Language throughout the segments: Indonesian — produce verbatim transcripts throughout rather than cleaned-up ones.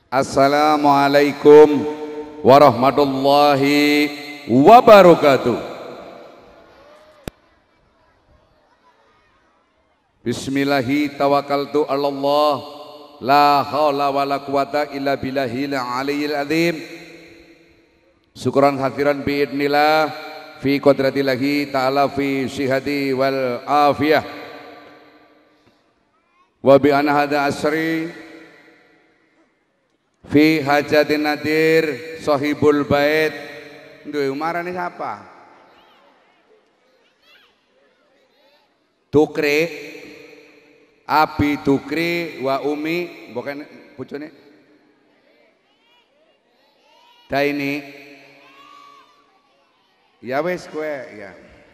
Assalamualaikum warahmatullahi wabarakatuh. Bismillahi tawakkaltu ala Allah, la haula wala quwata illa billahil aliyil azim. Syukran hadiran biidnillah fi qadratillahi ta'ala fi sihati wal afiyah. Wa bi anna hadha asri fi hajatin nadir sahibul bait. Duh, marane siapa? Tukri Abi Tukri wa Umi, bukan bojone Daini. Ya wes kowe ya.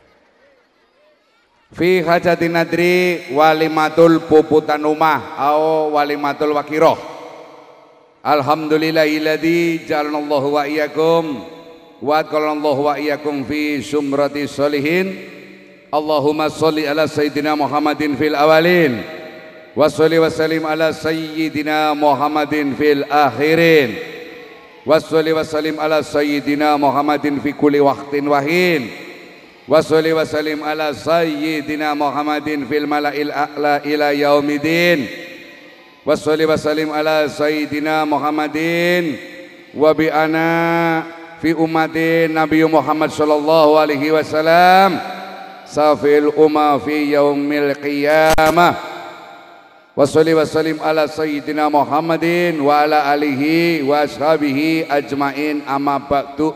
Fi hajatin nadri walimatul puputan umah au walimatul wakiroh. Alhamdulillahilladzi ja'alanallahu wa iyyakum wa adkhalanallahu wa iyyakum fi sumrati sholihin. Allahumma sholli ala sayyidina Muhammadin fil awalin wa sholli wa sallim ala sayyidina Muhammadin fil akhirin wa sholli wa sallim ala sayyidina Muhammadin fi kulli waqtin wahin wa sholli wa sallim ala sayyidina Muhammadin fil mala'il a'la ila yaumidin wa sholli wa sallim ala sayyidina Muhammadin wa bi ana fi ummatin Nabi Muhammad sallallahu alaihi wasallam safil umma fi yaumil qiyamah wa sholli wa sallim ala sayyidina Muhammadin wa ala alihi wa ashabihi ajmain amma ba'du.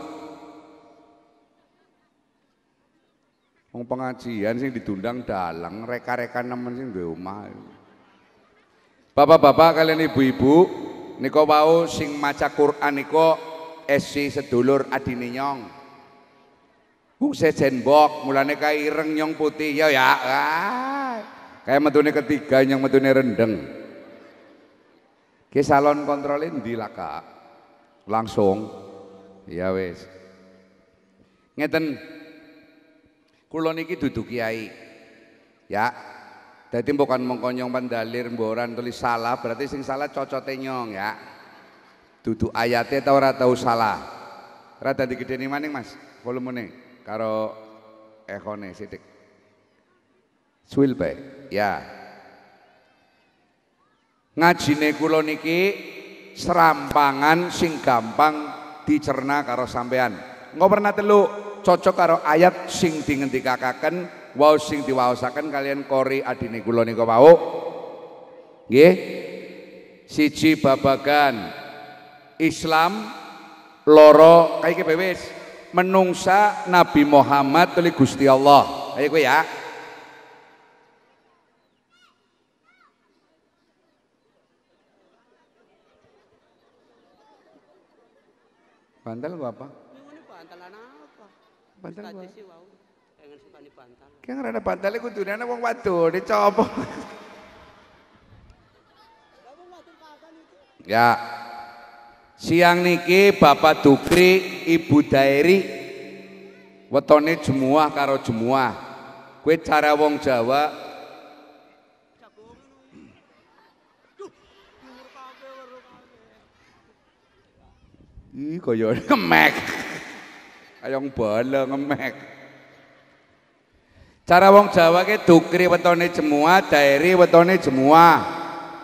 Wong pengajian sing ditundang dalang reka-reka nemen sing duwe omah. Bapak-bapak kalian ibu-ibu nika wau sing maca Quran nika esi sedulur adine nyong. Wong sejen mbok mulane kae ireng nyong putih ya ya. Ah, kayak metune ketiga nyong metune rendeng. Ki salon kontrolin ndi lah Kak? Langsung. Ya wis. Ngeten. Kula niki dudu kiai. Ya. Dadi bukan mengkonyong pandalir mboran tulis salah berarti sing salah cocote nyong ya. Dudu ayate ta ora tau salah. Rada digedeni maning Mas volumene karo ekone sithik. Suwil bae. Ya. Ngajine kula niki serampangan sing gampang dicerna karo sampean. Engko pernah telu cocok karo ayat sing dingendikaken wau sing diwaosaken kalian kori adine kula nika wau. Nggih. Siji babagan Islam, loro kayak wis menungsa Nabi Muhammad oleh Gusti Allah. Ayo kowe ya. Bantal gua apa? Bantalan apa? Bantal gua. Sih wow. Pengen sukani bantal. Ki ngrene bantale kudune ana wong wadon dicopo. Ya. Siang niki Bapak Dukri, Ibu Dairi wetone jemuah karo jemuah. Kowe cara wong Jawa Ih kaya ngemek. Kayong bala ngemek. Cara wong Jawa ki Dukri wetone jemuah, Dairi wetone jemuah.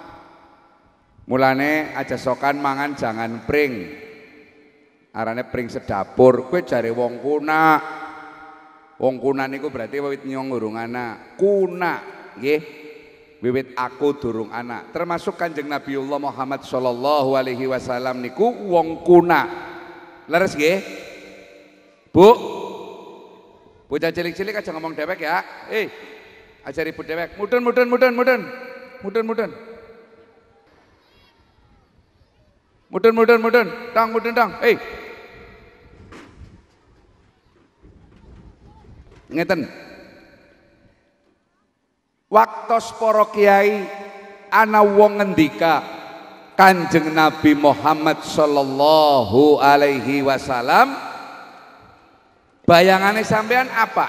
Mulane aja sokan mangan jangan pring. Arane pring sedapur. Kowe jare wong kuna. Wong kuna niku berarti wiwit nyong urung anak. Kuna, nggih. Wiwit aku durung anak. Termasuk Kanjeng Nabiullah Muhammad sallallahu alaihi wasallam niku wong kuna. Leres nggih? Bu. Bocah cilik-cilik aja ngomong dewek ya. Eh, aja ribut dewek. Mudun mudun mudun mudun. Mudun mudun. Mudun mudun mudun, tang mudun tang, eh, ngeten. Waktos para kiai ana wong ngendika Kanjeng Nabi Muhammad sallallahu alaihi wasallam, bayangane sampean apa?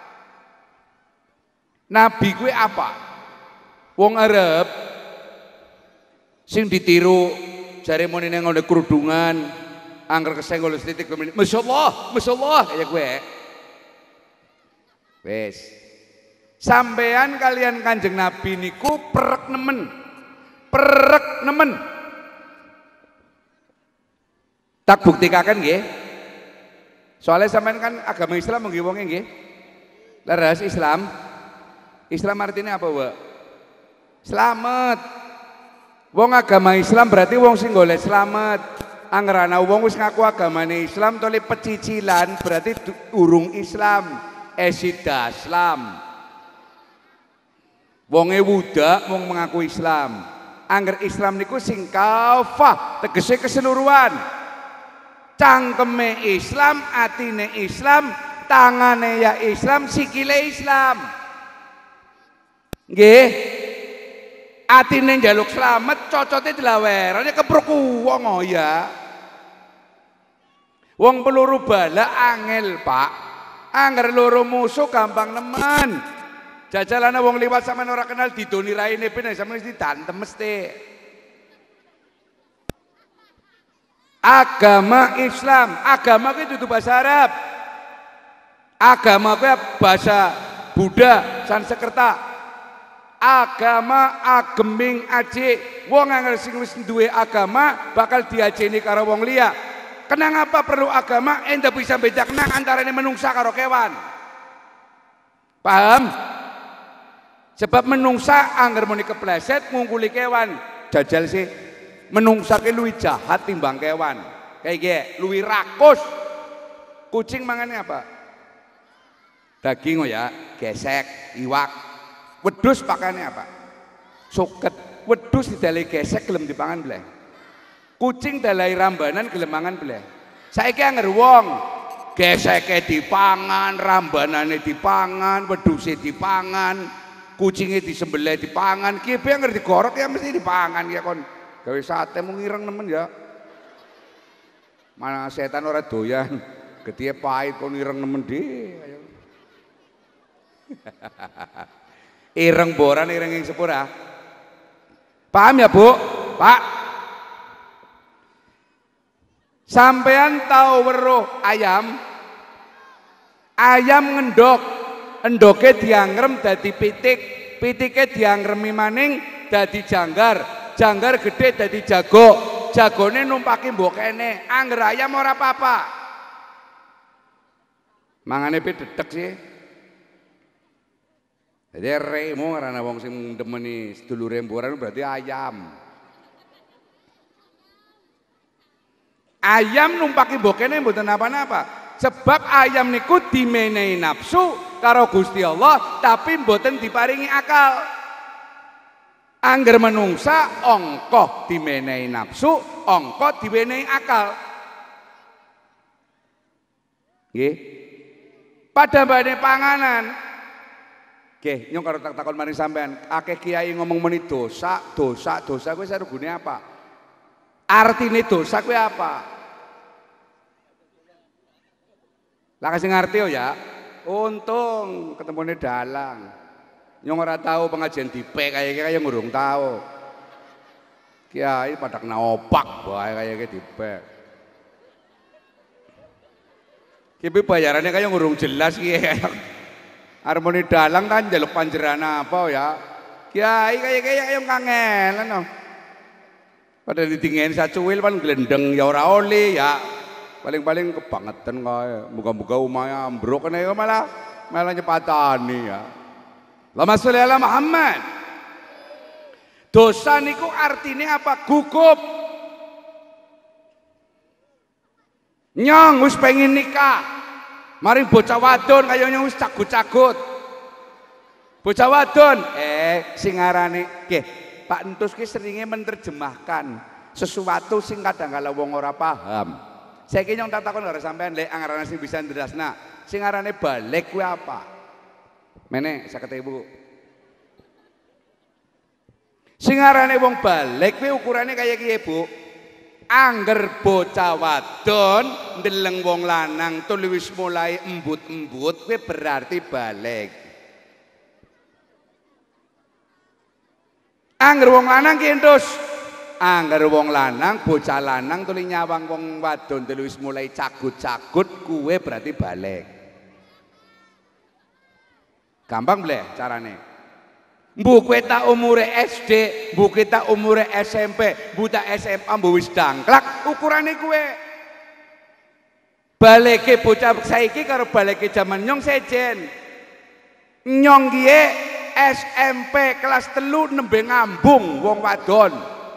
Nabi kuwi apa? Wong Arab sing ditiru Jare muni ning ngene kerudungan, angger kesenggol sithik masyaallah, masyaallah kaya gue. Wis. Sampean kalian Kanjeng Nabi niku perek nemen. Perek nemen. Tak buktikaken nggih. Soalnya sampean kan agama Islam nggih wonge nggih. Leres Islam. Islam artinya apa, Mbak? Selamat. Wong agama Islam berarti wong sing golek slamet. Angger ana wong wis ngaku agamane Islam tole pecicilan berarti urung Islam. Esida Islam. Wonge wudak wong mengaku Islam. Angger Islam niku sing kafah, tegese keseluruhan. Cangkeme Islam, atine Islam, tangane ya Islam, sikile Islam. Nggih. Atine njaluk slamet, cocote dilawerane kepruk wong oh ya. Wong peluru bala angel, Pak. Angger loro musuh gampang nemen. Jajalane wong liwat sampean ora kenal didoni raine ben sampeyan mesti dantem mesti. Agama Islam, agama kuwi dudu bahasa Arab. Agama kuwi bahasa Buddha, Sanskerta. Agama ageming aji. Wong angel sing wis duwe agama bakal diajeni karo wong liya. Kenang apa perlu agama? Ente bisa bedakna antarane menungsa karo kewan. Paham? Sebab menungsa angger muni kepleset ngungkuli kewan. Jajal sih menungsa ke luwih jahat timbang kewan. Kayak gini, luwih rakus. Kucing mangannya apa? Daging oh ya, gesek, iwak. Wedhus pakannya apa? Suket. Wedhus didalai gesek gelem dipangan bleh. Kucing dalai rambanan gelem mangan bleh. Saiki angger wong geseke dipangan, rambanane dipangan, wedhuse dipangan, kucinge disembelih dipangan, ki piye angger digorok ya mesti dipangan ya kon. Gawe sate mung ireng nemen ya. Mana setan ora doyan. Getihe pahit kon ireng nemen dhewe. Ireng boran ireng ing sepura. Paham ya, Bu? Pak. Sampean tahu weruh ayam? Ayam ngendok, endoke diangrem dadi pitik, pitike diangremi maning dadi janggar, janggar gede dadi jago, jagone numpaki mbok kene. Angger ayam ora apa-apa. Mangane pi dedek sih. Jadi remo karena wong sing demeni sedulure mboran berarti ayam. Ayam numpaki mbokene mboten napa-napa. Sebab ayam niku dimenehi nafsu karo Gusti Allah tapi mboten diparingi akal. Angger menungsa ongkoh dimenehi nafsu, ongkoh diwenehi akal. Nggih. Pada badhe panganan oke, nyong karo tak takon maring sampean, akeh kiai ngomong meni dosa, dosa, dosa kuwi sarugune apa? Artine dosa kuwi apa? Lah kasih ngerti ya. Untung ketemune dalang. Nyong ora tahu pengajian dipek kaya kaya ngurung tahu. Kiai pada kena opak bae kaya dipek. Ki bayarannya kaya ngurung jelas ki. Harmoni dalang kan jaluk panjeran apa ya? Kiai kayak kayak yang kangen, no. Pada ditinggalin sacuil pan gelendeng ya ora oli ya. Paling-paling kebangetan kaya. Muka-muka umaya ambruk kan ya malah malah nyepatani ya. Lama sholli ala Muhammad. Dosa niku artinya apa? Gugup. Nyong wis pengen nikah. Mari bocah wadon kayaknya wis cagut-cagut. Bocah wadon, eh sing ngarane nggih, Pak Entus ki seringe menerjemahkan sesuatu sing kadang kala wong ora paham. Saiki nyong tak takon karo sampean lek angarane sing bisa nderasna. Sing ngarane balik kuwi apa? Mene saged Ibu. Sing ngarane wong balik kuwi ukurane kaya kiye, Bu? Angger bocah wadon ndeleng wong lanang tur wis mulai embut-embut kuwi berarti balik. Angger wong lanang ki entus angger wong lanang bocah lanang tuli nyawang wong wadon telu wis mulai cagut-cagut kuwe berarti balik. Gampang bleh carane. Mbuh kowe tak umure S D, mbuh kita umure S M P, mbuh tak S M A mbuh wis dangklak ukurane kuwe. Balike bocah saiki karo balike jaman nyong sejen. Nyong kiye S M P kelas telu nembe ngambung wong wadon.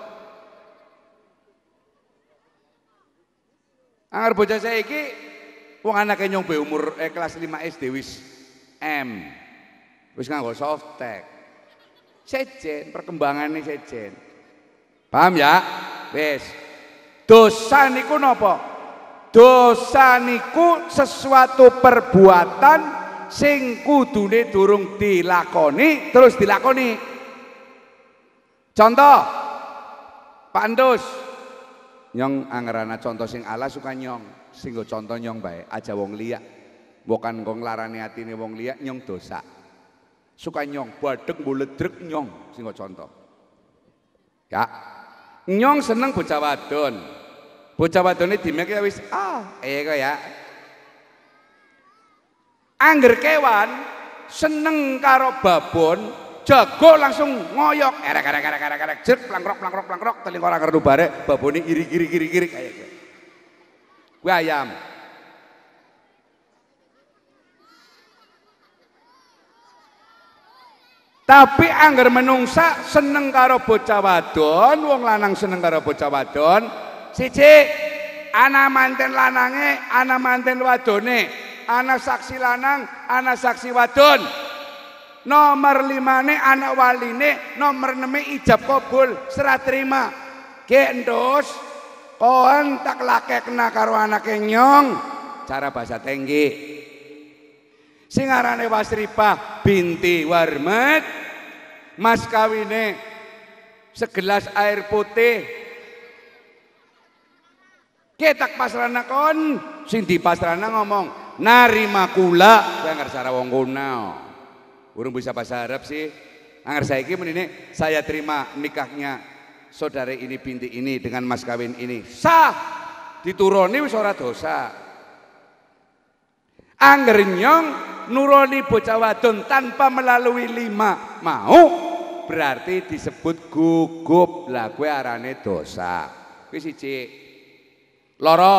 Angger bocah saiki wong anake nyong be umur eh, kelas lima S D wis M. Wis nganggo softtek. Sejen perkembangane sejen. Paham ya? Wis. Dosa niku napa? Dosa niku sesuatu perbuatan sing kudune durung dilakoni terus dilakoni. Contoh Pak Andus, nyong angerana contoh sing ala suka nyong, sing go contoh nyong bae, aja wong liya. Bukan kok nglarani atine wong liya nyong dosa. Suka nyong badeg mbuledrek nyong sing go contoh. Ya. Nyong seneng bocah wadon. Bocah wadone dimek wis ah, eh kok ya. Angger kewan seneng karo babon, jago langsung ngoyok, erek erek erek erek erek, jerk plangkrok plangkrok plangkrok, teling ora ngerti bare, babone iri iri iri iri kayak gitu. Kuwi ayam. Tapi angger menungsa seneng karo bocah wadon, wong lanang seneng karo bocah wadon, siji ana manten lanange, ana manten wadone. Anak saksi lanang, anak saksi wadon. Nomor limane anak waline, nomor eneme ijab kabul serah terima. Ki Endus, kon tak lakekna karo anake nyong. Cara bahasa Tenggi. Sing arane Wasripah binti Warmat, mas kawine segelas air putih. Ki tak pasrana kon, sing dipasrana ngomong narima kula, kowe ngerti cara wong kono. Urung bisa bahasa Arab sih. Angger saiki menine saya terima nikahnya saudara ini binti ini dengan mas kawin ini. Sah. Dituruni wis ora dosa. Angger nyong nuroni bocah wadon tanpa melalui lima mau berarti disebut gugup. Lah kowe arane dosa. Kuwi siji. Loro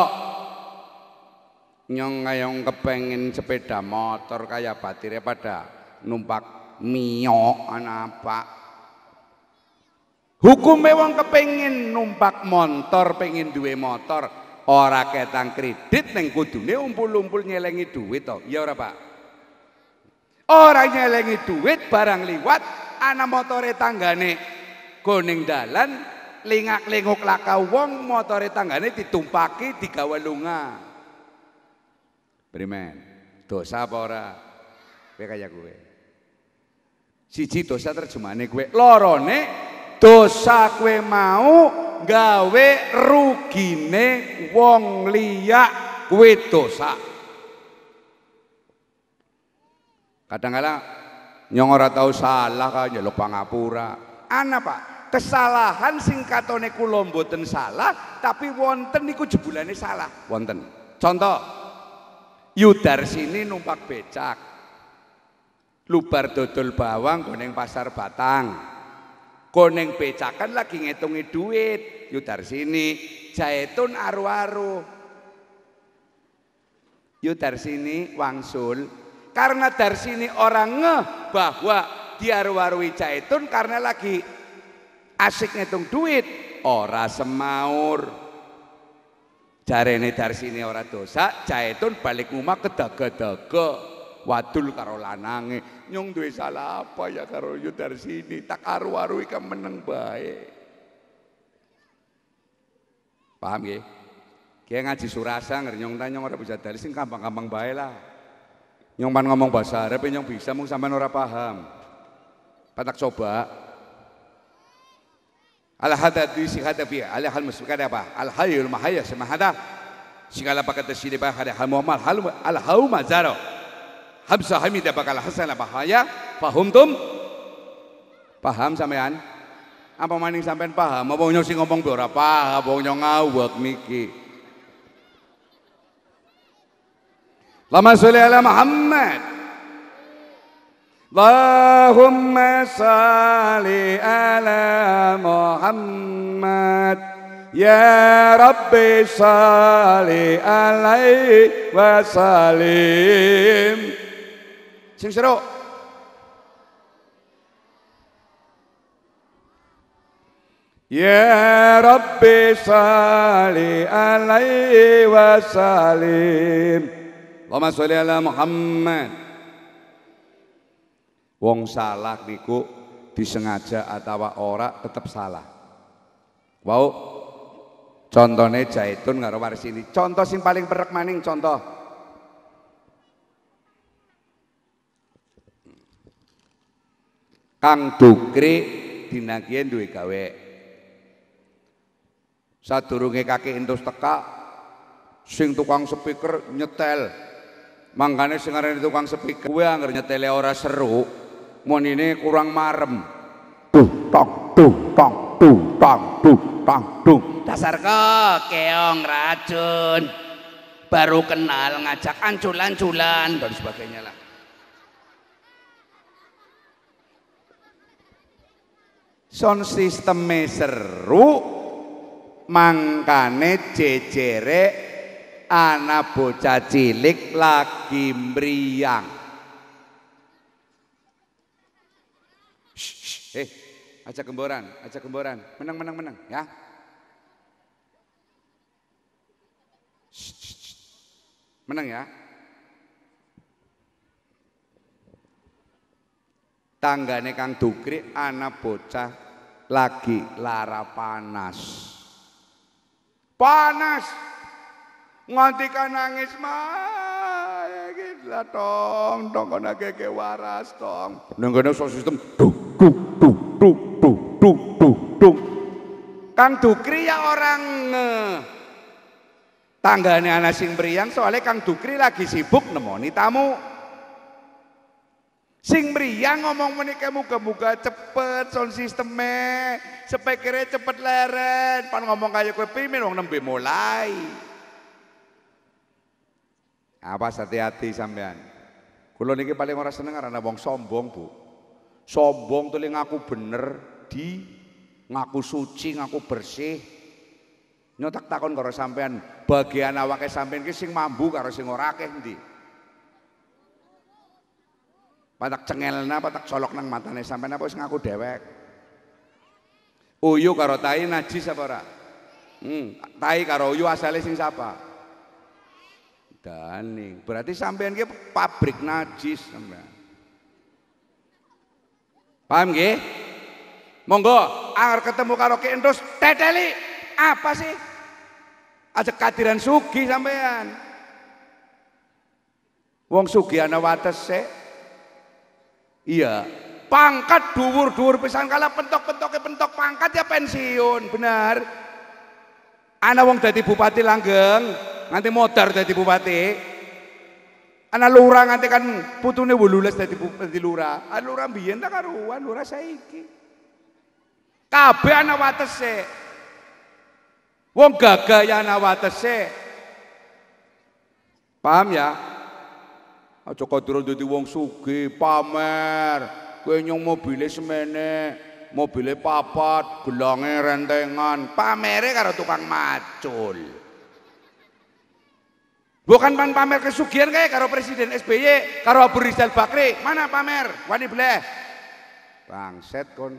nyong ngayong kepengen sepeda motor kayak batire pada numpak mio apa hukume wong kepengen numpak motor pengen duwe motor ora ketang kredit neng kudune umpul-umpul nyelengi duit to ya ora Pak ora nyelengi duit barang liwat ana motore tanggane goning dalan lingak-linguk laka wong motore tanggane ditumpaki digawe lunga. Primen, dosa apa ora? Kowe kaya kowe. Siji dosa terjemahane kowe, lorone dosa kowe mau gawe rugine wong liya kowe dosa. Kadang-kadang nyong ora tau salah kan njaluk pangapura. Ana Pak, kesalahan sing katone kula mboten salah, tapi wonten niku jebulane salah. Wonten. Contoh Yudarsini numpak becak lubar dodol bawang koneng pasar Batang koneng becakan lagi ngitungi duit Yudarsini Jaitun aru-aru Yudarsini wangsul karena Darsini orang ngeh bahwa diaru-arui Jaitun karena lagi asik ngitung duit ora semaur. Jarene Darsini ora dosa, Jaitun balik rumah kedaga-daga wadul karo lanange. Nyong duwe salah apa ya karo Darsini? Tak aru-aru iki meneng bae. Paham nggih? Ki ngaji surasa nger nyong ta nyong ora bisa dalil sing gampang-gampang bae lah. Nyong pan ngomong bahasa Arab nyong bisa mung sampean ora paham. Patak coba. Al-hadad si hadafi al-hal musbika apa? Al-hayyul mahayya semahada. Segala pakat sini bah ada hal muamal hal al-hau mazaro. Habsa hamida bakal hasan bahaya. Fahum tum? Paham sampean? Apa maning sampean paham? Apa nyong sing ngomong ora paham, wong nyong ngawak niki. Allahumma sholli ala Muhammad. Allahumma sholli ala Muhammad. Ya Rabbi sholli alaihi wa sallim. Sing seru. Ya Rabbi sholli alaihi wa sallim. Allahumma sholli ala Muhammad. Wong salah niku disengaja atau ora tetap salah. Wow, contohnya Zaitun karo Warsini. Contoh sing paling perek maning contoh. Kang Dukri dinagih duwe gawe. Sadurunge kaki entus teka, sing tukang speaker nyetel. Mangkane sing arane tukang speaker kuwi anggere nyetele ora seru, monine kurang marem. Duh tok duh tok duh tok duh tok duh. Dasar kok keong racun. Baru kenal ngajak anculan-culan dan sebagainya lah. Sound sisteme seru, mangkane jejere anak bocah cilik lagi mriyang. Eh, aja gemboran, aja gemboran, menang menang menang ya. Menang ya. Tanggane Kang Dukri anak bocah lagi lara panas. Panas. Nganti kan nangis mah gila tong tong kono gege waras tong. Nang kene sistem duk duk duk duk duk duk duk duk. Kang Dukri ya orang tanggane ana sing mriyang soalnya Kang Dukri lagi sibuk nemoni tamu. Sing mriyang ngomong menike muga-muga cepet sound sisteme, speakere cepet leren, pan ngomong kaya kowe pimin wong nembe mulai. Apa hati-hati sampean. Kula niki paling ora seneng karena wong sombong, Bu. Sombong tuh ngaku bener di ngaku suci, ngaku bersih. Nyotak takon karo sampean, bagian awake sampean ki sing mambu karo sing ora akeh ndi? Patak cengelna, patak colok nang matane sampean apa wis ngaku dewek. Uyu karo tai najis apa ora? Hmm, tai karo uyu asale sing sapa? Daning. Berarti sampean ki pabrik najis sampean. Paham nggih? Monggo, anger ketemu karo Ki Endus teteli. Apa sih? Aja kadiran sugi sampean. Wong sugi ana watese. Iya, pangkat dhuwur-dhuwur pisan kala pentok-pentoke pentok pangkat ya pensiun, benar. Ana wong dadi bupati langgeng, nganti modar dadi bupati. Ana lurah nganti kan putune wolulas dadi bupati lurah. Ana lurah biyen ta karuan, lurah saiki. Kabeh ana watese. Wong gagah ya ana watese. Paham ya? Aja kadura dadi wong sugih pamer. Kowe nyong mobile semene, mobile papat, gelange rentengan, pamere karo tukang macul. Bukan pan pamer kesugihan kayak karo Presiden S B Y, karo Abu Rizal Bakri, mana pamer? Wani bleh. Bangset kon.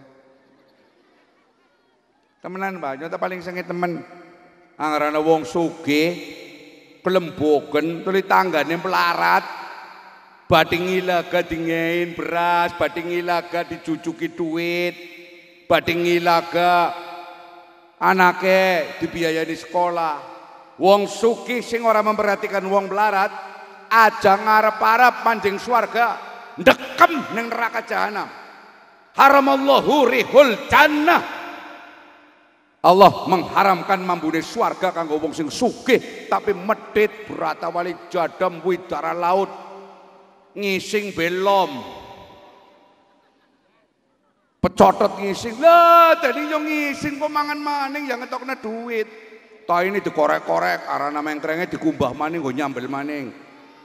Temenan Pak, nyata paling sengit temen. Angarana wong sugih, kelembogen, tuli tanggane pelarat. Bading ilaga dingein beras, bading ilaga dicucuki duit, bading ilaga anake dibiayai sekolah. Wong sugih sing ora memperhatikan wong melarat, aja ngarep-arep manjing swarga, ndekem ning neraka jahanam. Haramallahu rihul jannah. Allah mengharamkan mambune swarga kanggo wong sing sugih tapi medhit berata wali jadam widara laut. Ngising belom Pecotot ngising. Lah tadi nyong ngising kok mangan maning yang ngetokna duit. Toh ini dikorek-korek arana mengkrenge dikumbah maning nggo nyambel maning.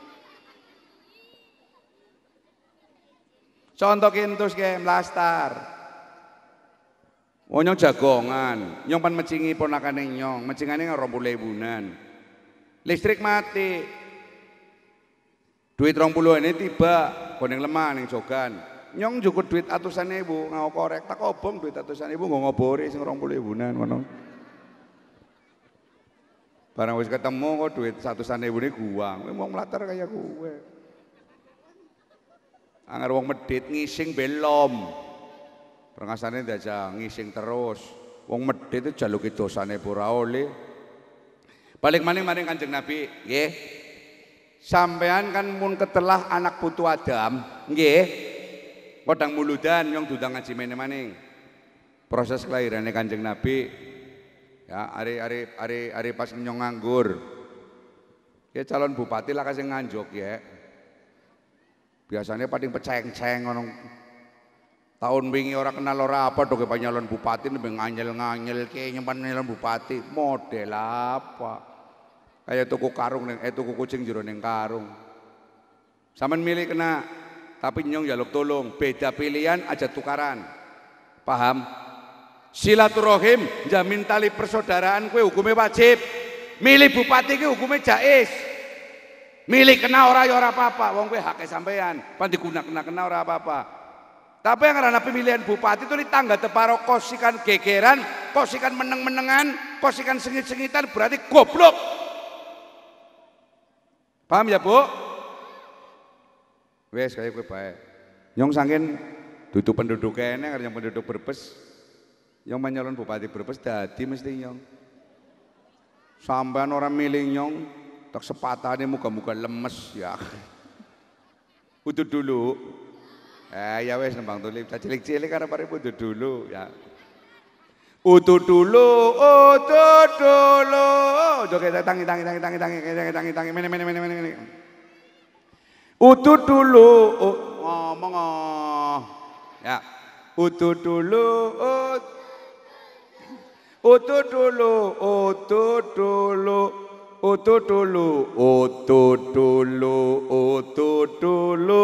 Contoh kintus ke mlastar. Oh nyong jagongan, nyong pan mecingi ponakane nyong, mecingane rong puluh ribuan. Listrik mati. Duit rong puluh ini tiba, koneng lemah ning jogan. Nyong jukut duit atusan ribu, ngau korek, tak obong duit atusan ribu, nggak ngobori sing rong puluh ribuan ngono. Barang wis ketemu kok duit satusan ribu ini guang, mau melatar kayak gue. Angger wong medit ngising belum. Prengasane diajak ngising terus. Wong medit itu jaluki dosane ora oleh. Balik maning maring Kanjeng Nabi, nggih. Sampean kan mun ketelah anak putu Adam, nggih. Podang muludan yang dudang ngaji mene maning. Proses kelahirannya Kanjeng Nabi ya ari-ari ari-ari pas nyong nganggur. Ya calon bupati lah kasih nganjuk ya. Biasanya paling peceng-ceng orang tahun wingi orang kenal ora apa dong ke nyalon bupati lebih nganyel-nganyel ke nyimpan nyalon bupati model apa kayak tuku karung eh tuku kucing jero ning karung sampean milih kena tapi nyong jaluk tolong beda pilihan aja tukaran paham silaturahim jamin tali persaudaraan kue hukumnya wajib milih bupati kue hukumnya jais milih kena ora ya ora apa-apa wong kowe hake sampean pan diguna-guna kena ora apa-apa tapi yang karena pemilihan bupati itu di tangga teparo kosikan gegeran kosikan meneng-menengan kosikan sengit-sengitan berarti goblok paham ya Bu wes kayak kowe bae nyong saking dudu penduduk kene karena yang penduduk Brebes yang menyalon bupati Brebes dadi mesti nyong sampean orang milih nyong tak sepatane muka-muka lemes ya. Udut dulu. Eh ya wes nembang tulip cilik-cilik karena pare udut dulu ya. Udut dulu, udut dulu. Joget tangi tangi tangi tangi tangi tangi tangi tangi mene mene mene mene. Udut dulu, ngomong ya. Udut dulu, udut dulu, udut dulu. Utut dulu, utut dulu, utut dulu.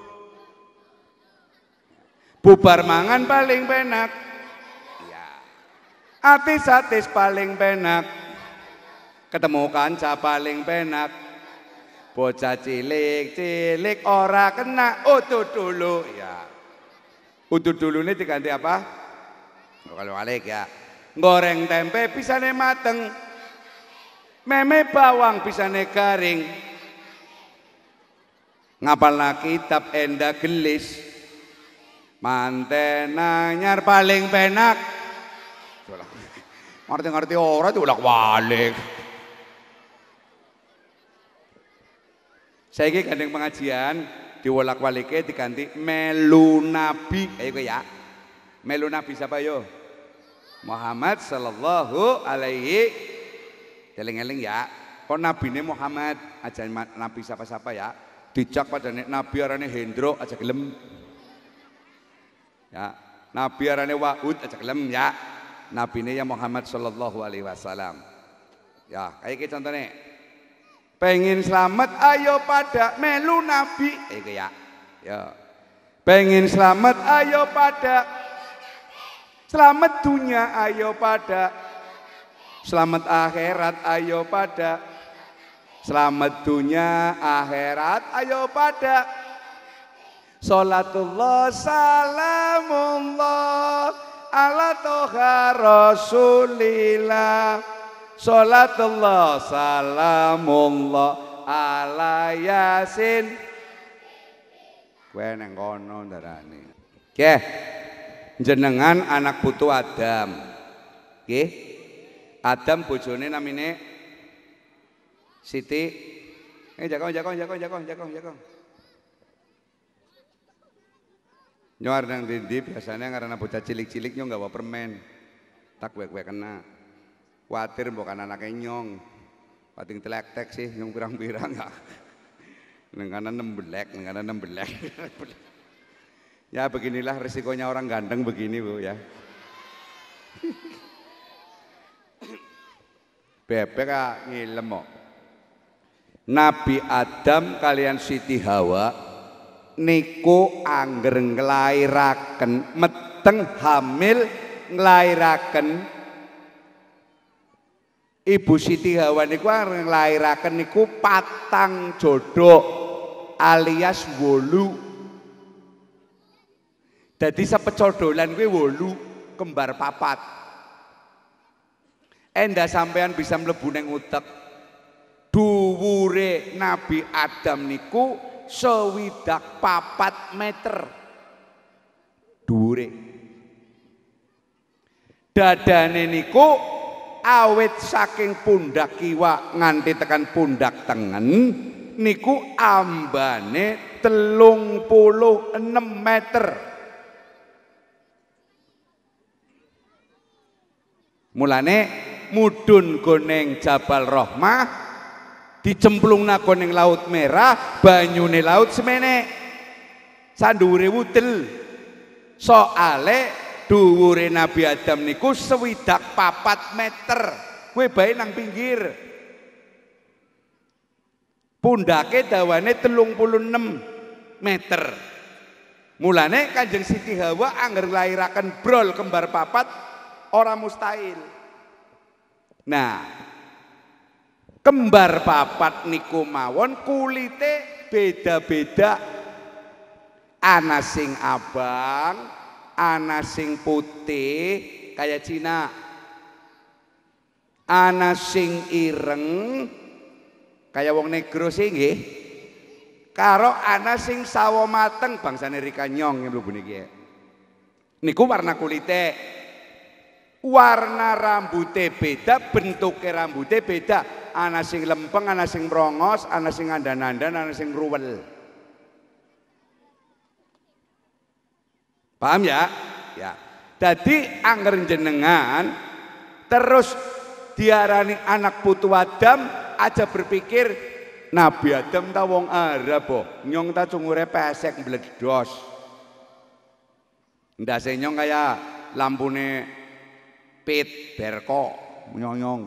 Bubar mangan paling penak. Ya. Atis-atis paling penak. Ketemu kanca paling penak. Bocah cilik-cilik ora kena utut dulu. Ya. Utut dulu ini diganti apa? Kalau balik ya. Goreng tempe pisane mateng. Meme bawang pisane garing ngapalna kitab enda gelis manten anyar paling penak ngerti-ngerti ora diulak balik saiki gandeng pengajian diwolak walike diganti melu nabi ayo ya melu nabi siapa yo Muhammad sallallahu alaihi eling-eling ya, kok nabine Muhammad aja nabi siapa-siapa ya, dicak pada nabi arane Hendro aja gelem, ya nabi arane Wahud aja gelem ya, nabine ya Muhammad Sallallahu Alaihi Wasallam, ya kayak gitu contohnya, pengen selamat ayo pada melu nabi, itu ya, ya, pengen selamat ayo pada, selamat dunia ayo pada. Selamat akhirat ayo pada selamat dunia akhirat ayo pada Salatullah salamullah ala toha rasulillah Salatullah salamullah ala yasin kowe nang kono ndarani nggih jenengan anak putu Adam nggih Adam bojone namine Siti. Eh jakong jakong jakong jakong jakong jakong. Nyuar nang dindi biasanya karena bocah cilik-cilik nyong gawa permen. Tak kowe-kowe kena. Kuatir mbok kan anake nyong. Pating telek-tek sih nyong pirang-pirang ya. Nang kanan nembelek, nang kanan nembelek. Ya beginilah resikonya orang ganteng begini Bu ya. Bebek ah ngilem kok. Nabi Adam kalian Siti Hawa niku angger nglairaken meteng hamil nglairaken Ibu Siti Hawa niku angger nglairaken niku patang jodho alias wolu. Dadi sepecodolan kuwi wolu kembar papat. Endah sampean bisa mlebu ning utek. Dhuwure Nabi Adam niku sewidak papat meter. Dhuwure. Dadane niku awit saking pundak kiwa nganti tekan pundak tengen niku ambane telung puluh enam meter. Mulane mudun goneng Jabal Rahmah dicemplungna goneng Laut Merah banyune laut semene sandhuwure wudel soale dhuwure Nabi Adam niku sewidak papat meter kowe bae nang pinggir pundake dawane telung puluh enam meter. Mulane Kanjeng Siti Hawa angger nglairaken brol kembar papat orang mustahil. Nah, kembar papat niku mawon kulite beda-beda. Ana sing abang, ana sing putih kayak Cina. Ana sing ireng kayak wong negro sih nggih. Karo ana sing sawo mateng bangsane Rikanyong mlebu niki. Niku warna kulite. Warna rambutnya beda, bentuknya rambutnya beda. Ana sing lempeng, ana sing merongos, ana sing andan-andan, ana sing ruwel. Paham ya? Ya. Jadi angger jenengan terus diarani anak putu Adam aja berpikir Nabi Adam ta wong Arab boh. Nyong ta cungure pesek mbledos. Ndase nyong kaya lampune Pit Berko nyonyong.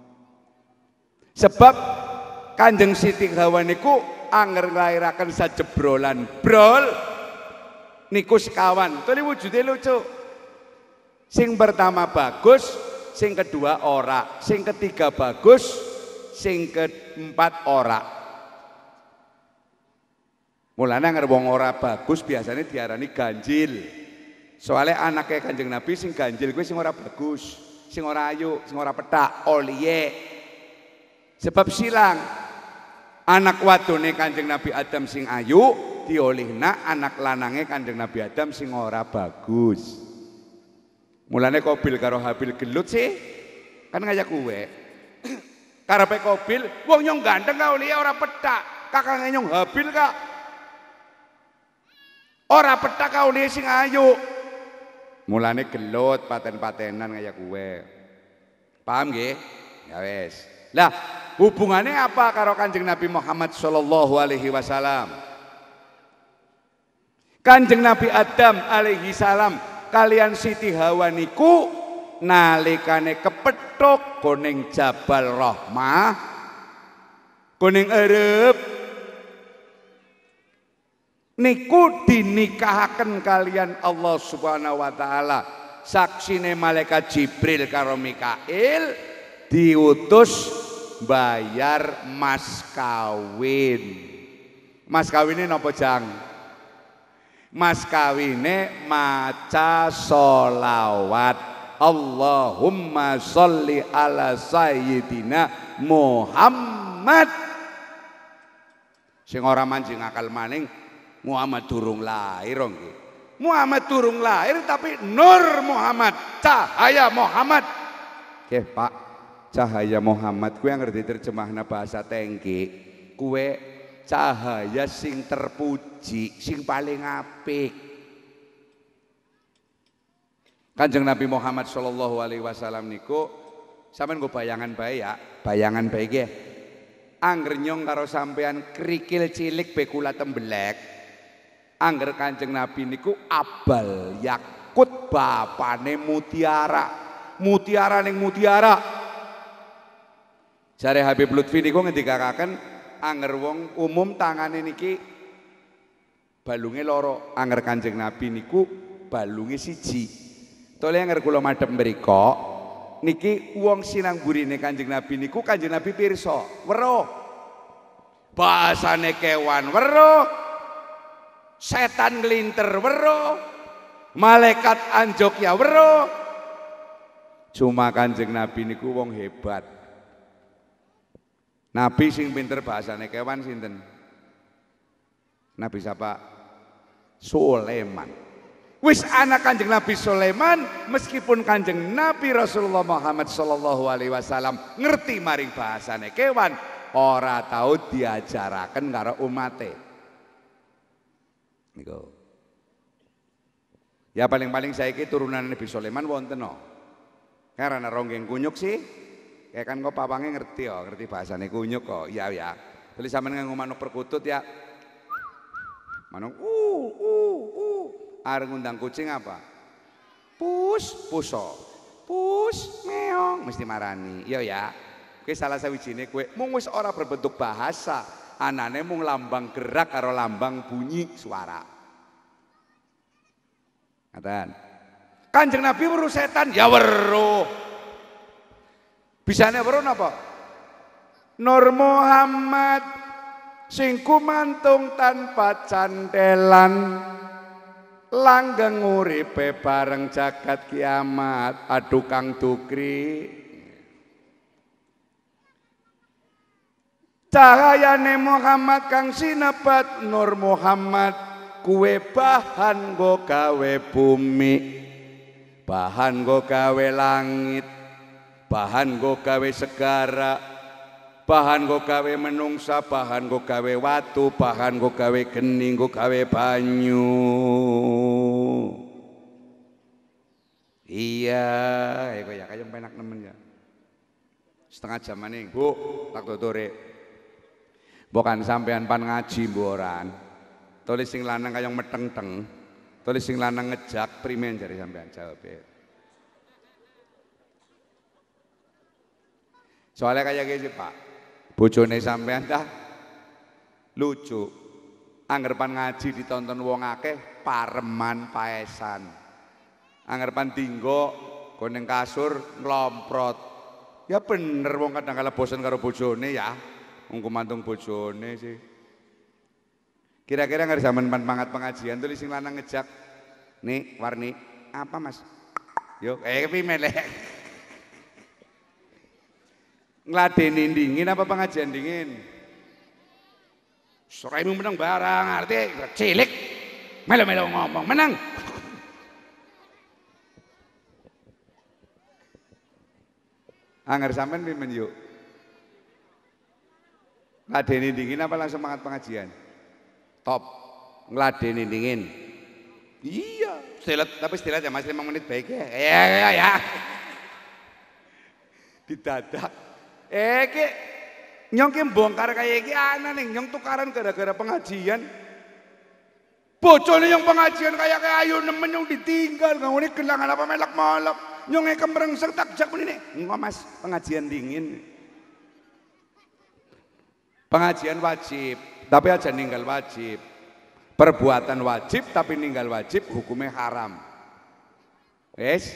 Sebab Kanjeng Siti Hawa niku angger nglairaken sajebrolan brol niku sekawan. Tuli wujude lucu. Sing pertama bagus, sing kedua ora, sing ketiga bagus, sing keempat ora. Mulane angger wong ora bagus biasanya diarani ganjil. Soalnya anaknya Kanjeng Nabi sing ganjil kuwi sing ora bagus, sing ora ayu, sing ora petak, oliye. Sebab silang anak wadone Kanjeng Nabi Adam sing ayu diolihna anak lanange Kanjeng Nabi Adam sing ora bagus. Mulane Qabil karo Habil gelut sih kan ngajak kuwe. Karepe Qabil wong nyong ganteng ka oliye ora petak, kakange nyong Habil kak ora petak ka oliye sing ayu. Mulane gelut paten-patenan kayak gue. Paham nggih? Ya wes. Lah, hubungannya apa karo Kanjeng Nabi Muhammad sallallahu alaihi wasallam? Kanjeng Nabi Adam alaihi salam kalian Siti Hawa niku nalikane kepethuk goning Jabal Rahmah goning Arab niku dinikahaken kalian Allah Subhanahu wa taala. Saksine malaikat Jibril karo Mikail diutus bayar mas kawin. Mas kawine napa Jang? Mas kawine maca sholawat. Allahumma sholli ala sayyidina Muhammad. Sing ora manjing akal maning Muhammad durung lahir nggih. Muhammad durung lahir tapi Nur Muhammad, cahaya Muhammad. Nggih, Pak. Cahaya Muhammad kuwi yang ngerti terjemahna bahasa tengki. Kuwe cahaya sing terpuji, sing paling apik. Kanjeng Nabi Muhammad sallallahu alaihi wasallam niku sampean nggo bayangan bae ya, bayangan bae nggih. Angger nyong karo sampean krikil cilik bekula tembelek. Angger Kanjeng Nabi niku abal yakut bapane mutiara. Mutiara ning mutiara. Jare Habib Lutfi niku ngendikaken angger wong umum tangane niki balunge loro, angger Kanjeng Nabi niku balunge siji. Tole angger kula madhep mriku niki wong sinang burine Kanjeng Nabi niku Kanjeng Nabi pirsa, weruh. Bahasane kewan weruh. Setan nglinter weruh. Malaikat anjuk ya weruh. Cuma Kanjeng Nabi niku wong hebat. Nabi sing pinter bahasane kewan sinten? Nabi siapa? Sulaiman. Wis anak Kanjeng Nabi Sulaiman, meskipun Kanjeng Nabi Rasulullah Muhammad sallallahu alaihi wasallam ngerti maring bahasane kewan, ora tahu diajaraken karo umate. Niku. Ya paling-paling saiki turunan Nabi Sulaiman wonten no. Karena ronggeng kunyuk sih. Ya kan kok papange ngerti ya, ngerti bahasane kunyuk kok. Iya ya. Terus sampean nganggo manuk perkutut ya. Manuk uh uh uh. Arep ngundang kucing apa? Pus, puso. Pus, meong mesti marani. Iya ya. Kuwi salah sawijine kowe mung wis ora berbentuk bahasa, anane mung lambang gerak karo lambang bunyi suara. Ngaten. Kanjeng Nabi weruh setan, ya weruh. Bisane weruh napa? Nur Muhammad sing kumantung tanpa cantelan, langgeng uripe bareng jagat kiamat. Aduh Kang Dukri, cahayane Muhammad kang sinebat Nur Muhammad, kuwe bahan go gawe bumi, bahan go gawe langit, bahan go gawe segara, bahan go gawe menungsa, bahan go gawe watu, bahan go gawe geni, go gawe banyu. Iya, ya kaya kaya penak nemen ya. Setengah jam maning, Bu, tak tuturi. Bukan sampean pan ngaji mboran. Tulis sing lanang kaya meteng-teng. Tulis sing lanang ngejak primen jare sampean jawab. Soalnya kayak gini Pak, bojone sampean dah lucu. Anggerpan ngaji ditonton wong akeh, pareman paesan. Anggerpan tinggo koneng kasur nglomprot. Ya bener wong kadang kala bosen karo bojone ya. Wong kumantung bojone sih. Kira-kira nggak zaman pangat pengajian tulis sing lanang ngejak. Nih warni apa Mas? Yuk, eh pimelek. Ngladeni dingin apa pengajian dingin? Soraimu menang barang, arti cilik, melo-melo ngomong menang. Angger sampean pimen yuk? Ngladeni dingin apa langsung semangat pengajian? Top, ngladeni dingin. Iya, stilet tapi stilet ya masih lima menit baik ya. Ya ya ya. Didadak. Eh ki nyong ki bongkar kayak iki ana ning nyong tukaran gara-gara pengajian. Bocone yang pengajian kayak kayak ayu nemen nyong ditinggal ngene gelangan apa melak-melak. Nyong e kemrengseng tak jak menine. Engko Mas, pengajian dingin. Pengajian wajib, tapi aja ninggal wajib. Perbuatan wajib tapi ninggal wajib hukumnya haram. Wes.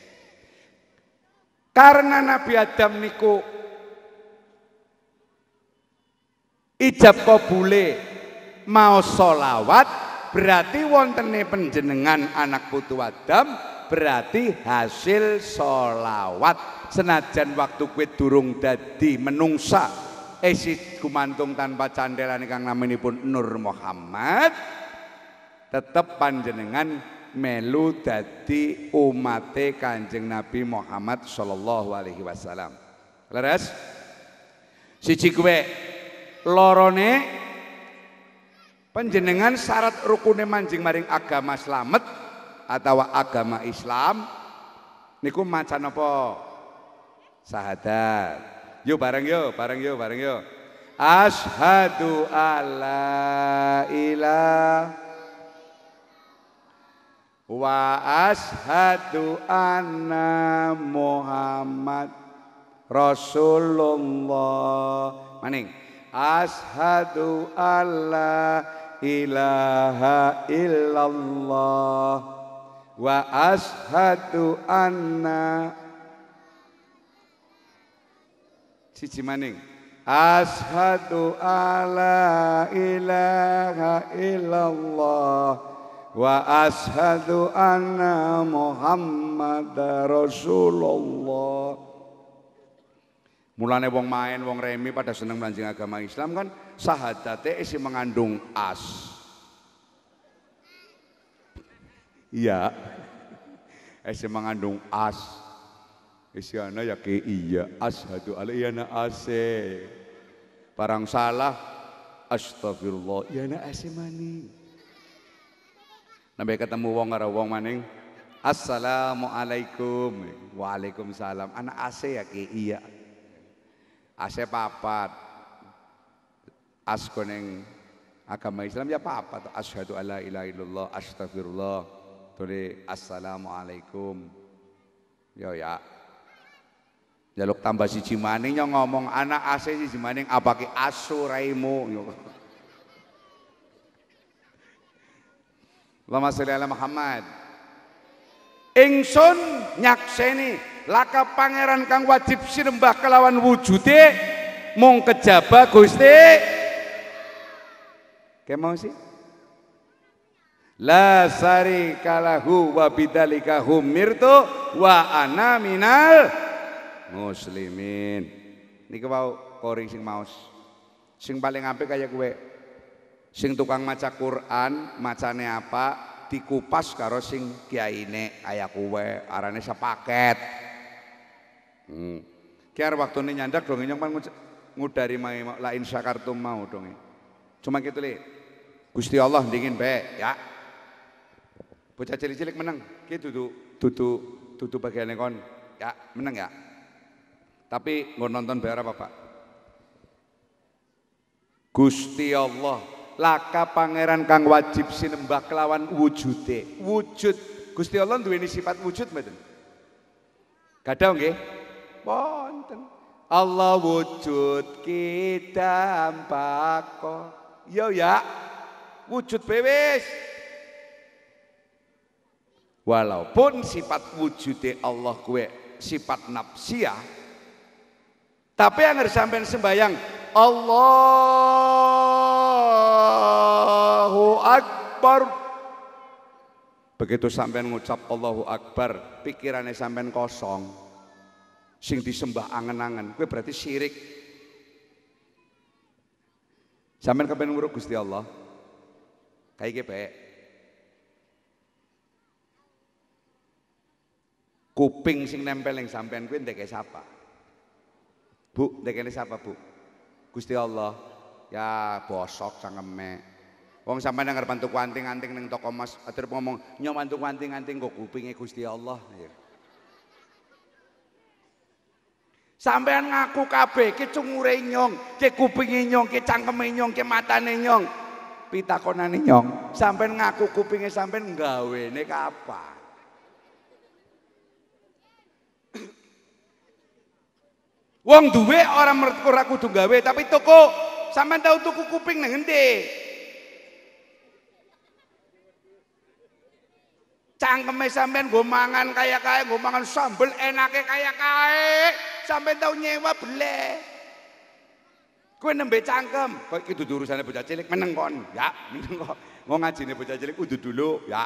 Karena Nabi Adam niku ijab kabule mau sholawat, berarti wontene panjenengan anak putu Adam, berarti hasil sholawat. Senajan waktu kowe durung dadi menungsa, esi gumantung tanpa candelan kang naminipun Nur Muhammad, tetep panjenengan melu dadi umate Kanjeng Nabi Muhammad sallallahu alaihi wasallam. Leres? Siji kowe lorone panjenengan syarat rukune manjing maring agama slamet atau agama Islam niku macan apa? Syahadat. Yuk bareng yuk, bareng yuk, bareng yuk. Asyhadu alla ilaha wa ashadu anna Muhammad Rasulullah. Maning ashadu alla ilaha illallah wa ashadu anna siji maning ashadu alla ilaha illallah wa ashadu anna Muhammad Rasulullah. Mulane wong main wong remi pada seneng mlanjing agama Islam kan sahadate isi mengandung as. Iya. Isi mengandung as. Isi ana ya ke iya ashadu alla yana ase. Barang salah astagfirullah yana ase maning. Nambe ketemu wong karo wong maning assalamualaikum. Waalaikumsalam. Ana ase ya ke iya. Ase papat. As koneng agama Islam ya papat. Asyhadu alla ilaha illallah astagfirullah. Tuli assalamualaikum. Yo ya. Jaluk tambah siji maning yo ngomong anak ase siji maning apake asu raimu. Allahumma sholli ala Muhammad. Ingsun nyakseni laka pangeran kang wajib sinembah kelawan wujude mung kejaba Gusti. Ke mau sih? La sarika lahu wa bidzalika humirtu wa ana minal muslimin. Niki wau kori sing maos. Sing paling apik kaya kowe. Sing tukang maca Quran, macane apa? Dikupas karo sing kiyaine kaya kowe, arane sepaket. Hmm. Kiar waktune nyandak dong nyong pan ngudari la in syakartum mau dong. Cuma gitu le. Gusti Allah dingin bae ya. Bocah cilik-cilik meneng. Ki dudu dudu dudu bagiane kon. Ya, meneng ya. Tapi nggo nonton bae apa, Pak? Gusti Allah laka pangeran kang wajib sinembah kelawan wujude. Wujud Gusti Allah duweni sifat wujud mboten? Gadah nggih? Wonten. Allah wujud kita ambako. Yo ya. Wujud bewis. Walaupun sifat wujude Allah kuwe sifat nafsiyah, tapi yang harus sampean sembayang Allahu Akbar. Begitu sampean ngucap Allahu Akbar, pikirannya sampean kosong. Sing disembah angen-angen, kuwi berarti syirik. Sampean kepen nguruk Gusti Allah. Kayak iki bae. Kuping sing nempel yang sampean kuwi ndeke sapa? Bu, ndekene sapa, Bu? Gusti Allah. Ya bosok cangkeme. Wong sampean nang arep tuku anting-anting ning toko Mas, atur ngomong, "Nyom antuk anting-anting kok kupinge Gusti Allah." Ya. Sampean ngaku kabeh ki cungure nyong, ki kupinge nyong, ki cangkeme nyong, ki matane nyong. Pitakonane nyong, sampean ngaku kupinge sampean gawene kapan? Wong duwe orang ora kudu gawe tapi toko sampean tau tuku kuping nang endi? Cangkeme sampean nggo mangan kaya kae, nggo mangan sambel enake kaya kae, sampean tau nyewa bele. Kowe nembe cangkem, kok iki dudu urusane bocah cilik meneng kon. Ya, meneng kok. Wong ngajine bocah cilik kudu dulu, ya.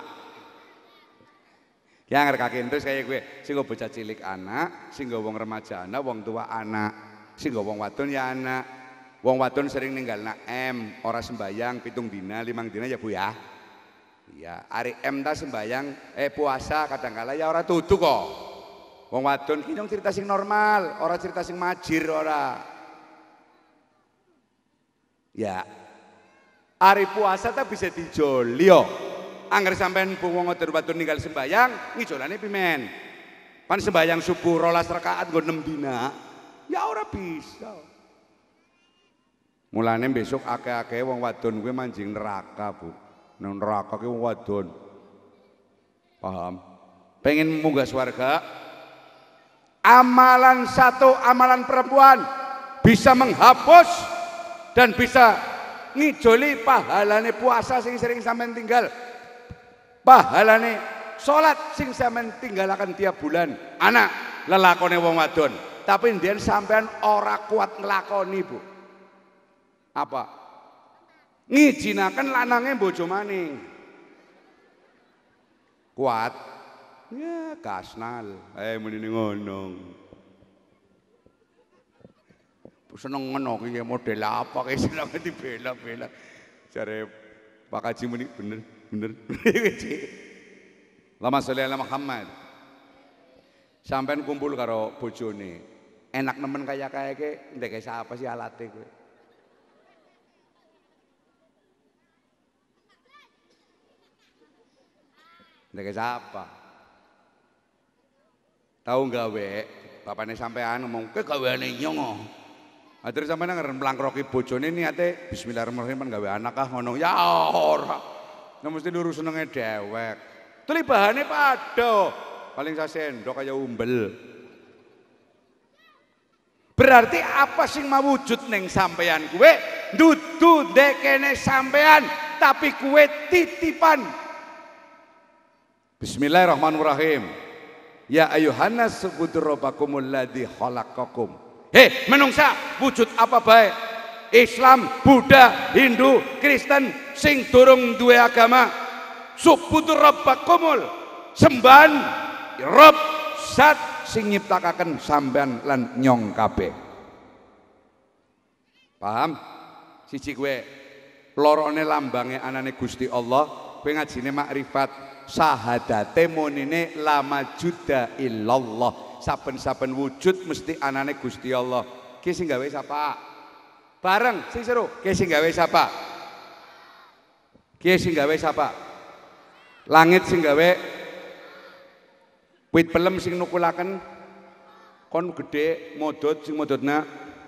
Ki anger kakek terus kaya gue, sing go bocah cilik anak, sing go wong remaja anak, wong tua anak, sing go wong wadon ya anak. Wong wadon sering ninggal nak M, ora sembayang pitung dina, limang dina ya Bu ya. Iya, hari M ta sembayang, eh puasa kadang-kala ya ora tutu kok. Wong wadon ki nyong cerita sing normal, ora cerita sing majir ora. Ya. Hari puasa ta bisa dijolio. Angger sampean wong wadon ninggal sembayang, ngijolane pimen. Pan sembayang subuh rolas rakaat nggo enam dina. Ya ora bisa. Mulane besok akeh-akeh wong wadon kuwi manjing neraka, Bu. Nang neraka ki wong wadon. Paham? Pengen munggah swarga? Amalan satu, amalan perempuan bisa menghapus dan bisa ngijoli pahalane puasa sing sering sampean tinggal, pahalane salat sing sampean tinggalaken tiap bulan. Anak lelakone wong wadon, tapi ndien sampean ora kuat nglakoni, Bu. Apa? Ngijinaken lanange bojo maning. Kuat? Ya kasnal. Eh muni ngono. Seneng ngono iki model apa kae seneng dibela-bela. Jare Pak Haji muni bener bener. Lama sholli ala Muhammad. Sampean kumpul karo bojone. Enak nemen kaya kaya ke ndek siapa sih alate kowe? Ndek siapa? Tahu gawe, bapaknya sampean ngomong, ke gaweane nyong. Akhirnya sampean ngeren mlangkroki bojone niate bismillahirrahmanirrahim gawe anak ah ngono. Ya ora. Nek mesti luru senenge dewek. Tuli bahane padha. Paling sasendok kaya umbel. Berarti apa sing mawujud ning sampean kuwe? Dudu ndekene sampean, tapi kuwe titipan. Bismillahirrahmanirrahim. Ya ayuhannas subudur rabbakumul ladzi khalaqakum. Hei menungsa, wujud apa bae? Islam, Buddha, Hindu, Kristen sing durung duwe agama, subudur rabbakumul, sembahan Rabb zat sing nyiptakaken sampean lan nyong kabeh. Paham? Siji kowe lorone lambange anane Gusti Allah, kowe ngajine makrifat. Sahadate monine lama juda illallah. Saben-saben wujud mesti anane Gusti Allah. Ki sing gawe sapa? Bareng sing seru. Ki sing gawe sapa? Ki sing gawe sapa? Langit sing gawe. Wit pelem sing nukulaken kon gede modot sing modotna.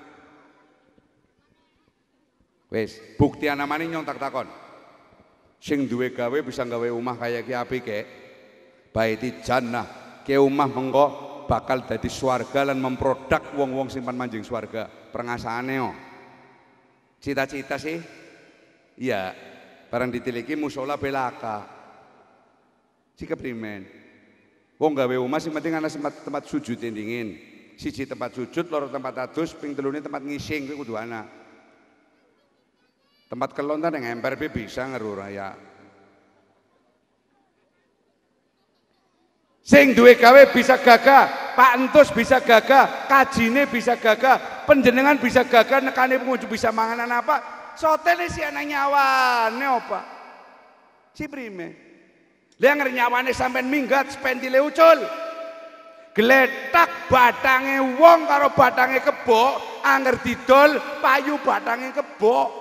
Wis, bukti anamane nyong tak takon. Sing duwe gawe bisa gawe omah kaya ki apik ke baiti jannah ke omah mengko bakal dadi swarga lan memproduk wong-wong simpan manjing swarga prengasaane yo cita-cita sih iya barang ditiliki mushola belaka si keprimen wong gawe omah sing penting ana tempat, tempat sujud dingin siji tempat sujud loro tempat adus ping telune tempat ngising kuwi kudu ana. Tempat kelontan yang emper bisa ngeru raya. Sing duwe gawe bisa gagah, Pak Entus bisa gagah, kajine bisa gagah, penjenengan bisa gagah, nekane pengunjung bisa manganan apa? Sotene si anak nyawane apa? Si prime. Liang nyawane sampean minggat spendile ucul. Gletak batange wong karo batange kebo, anger didol payu batange kebo.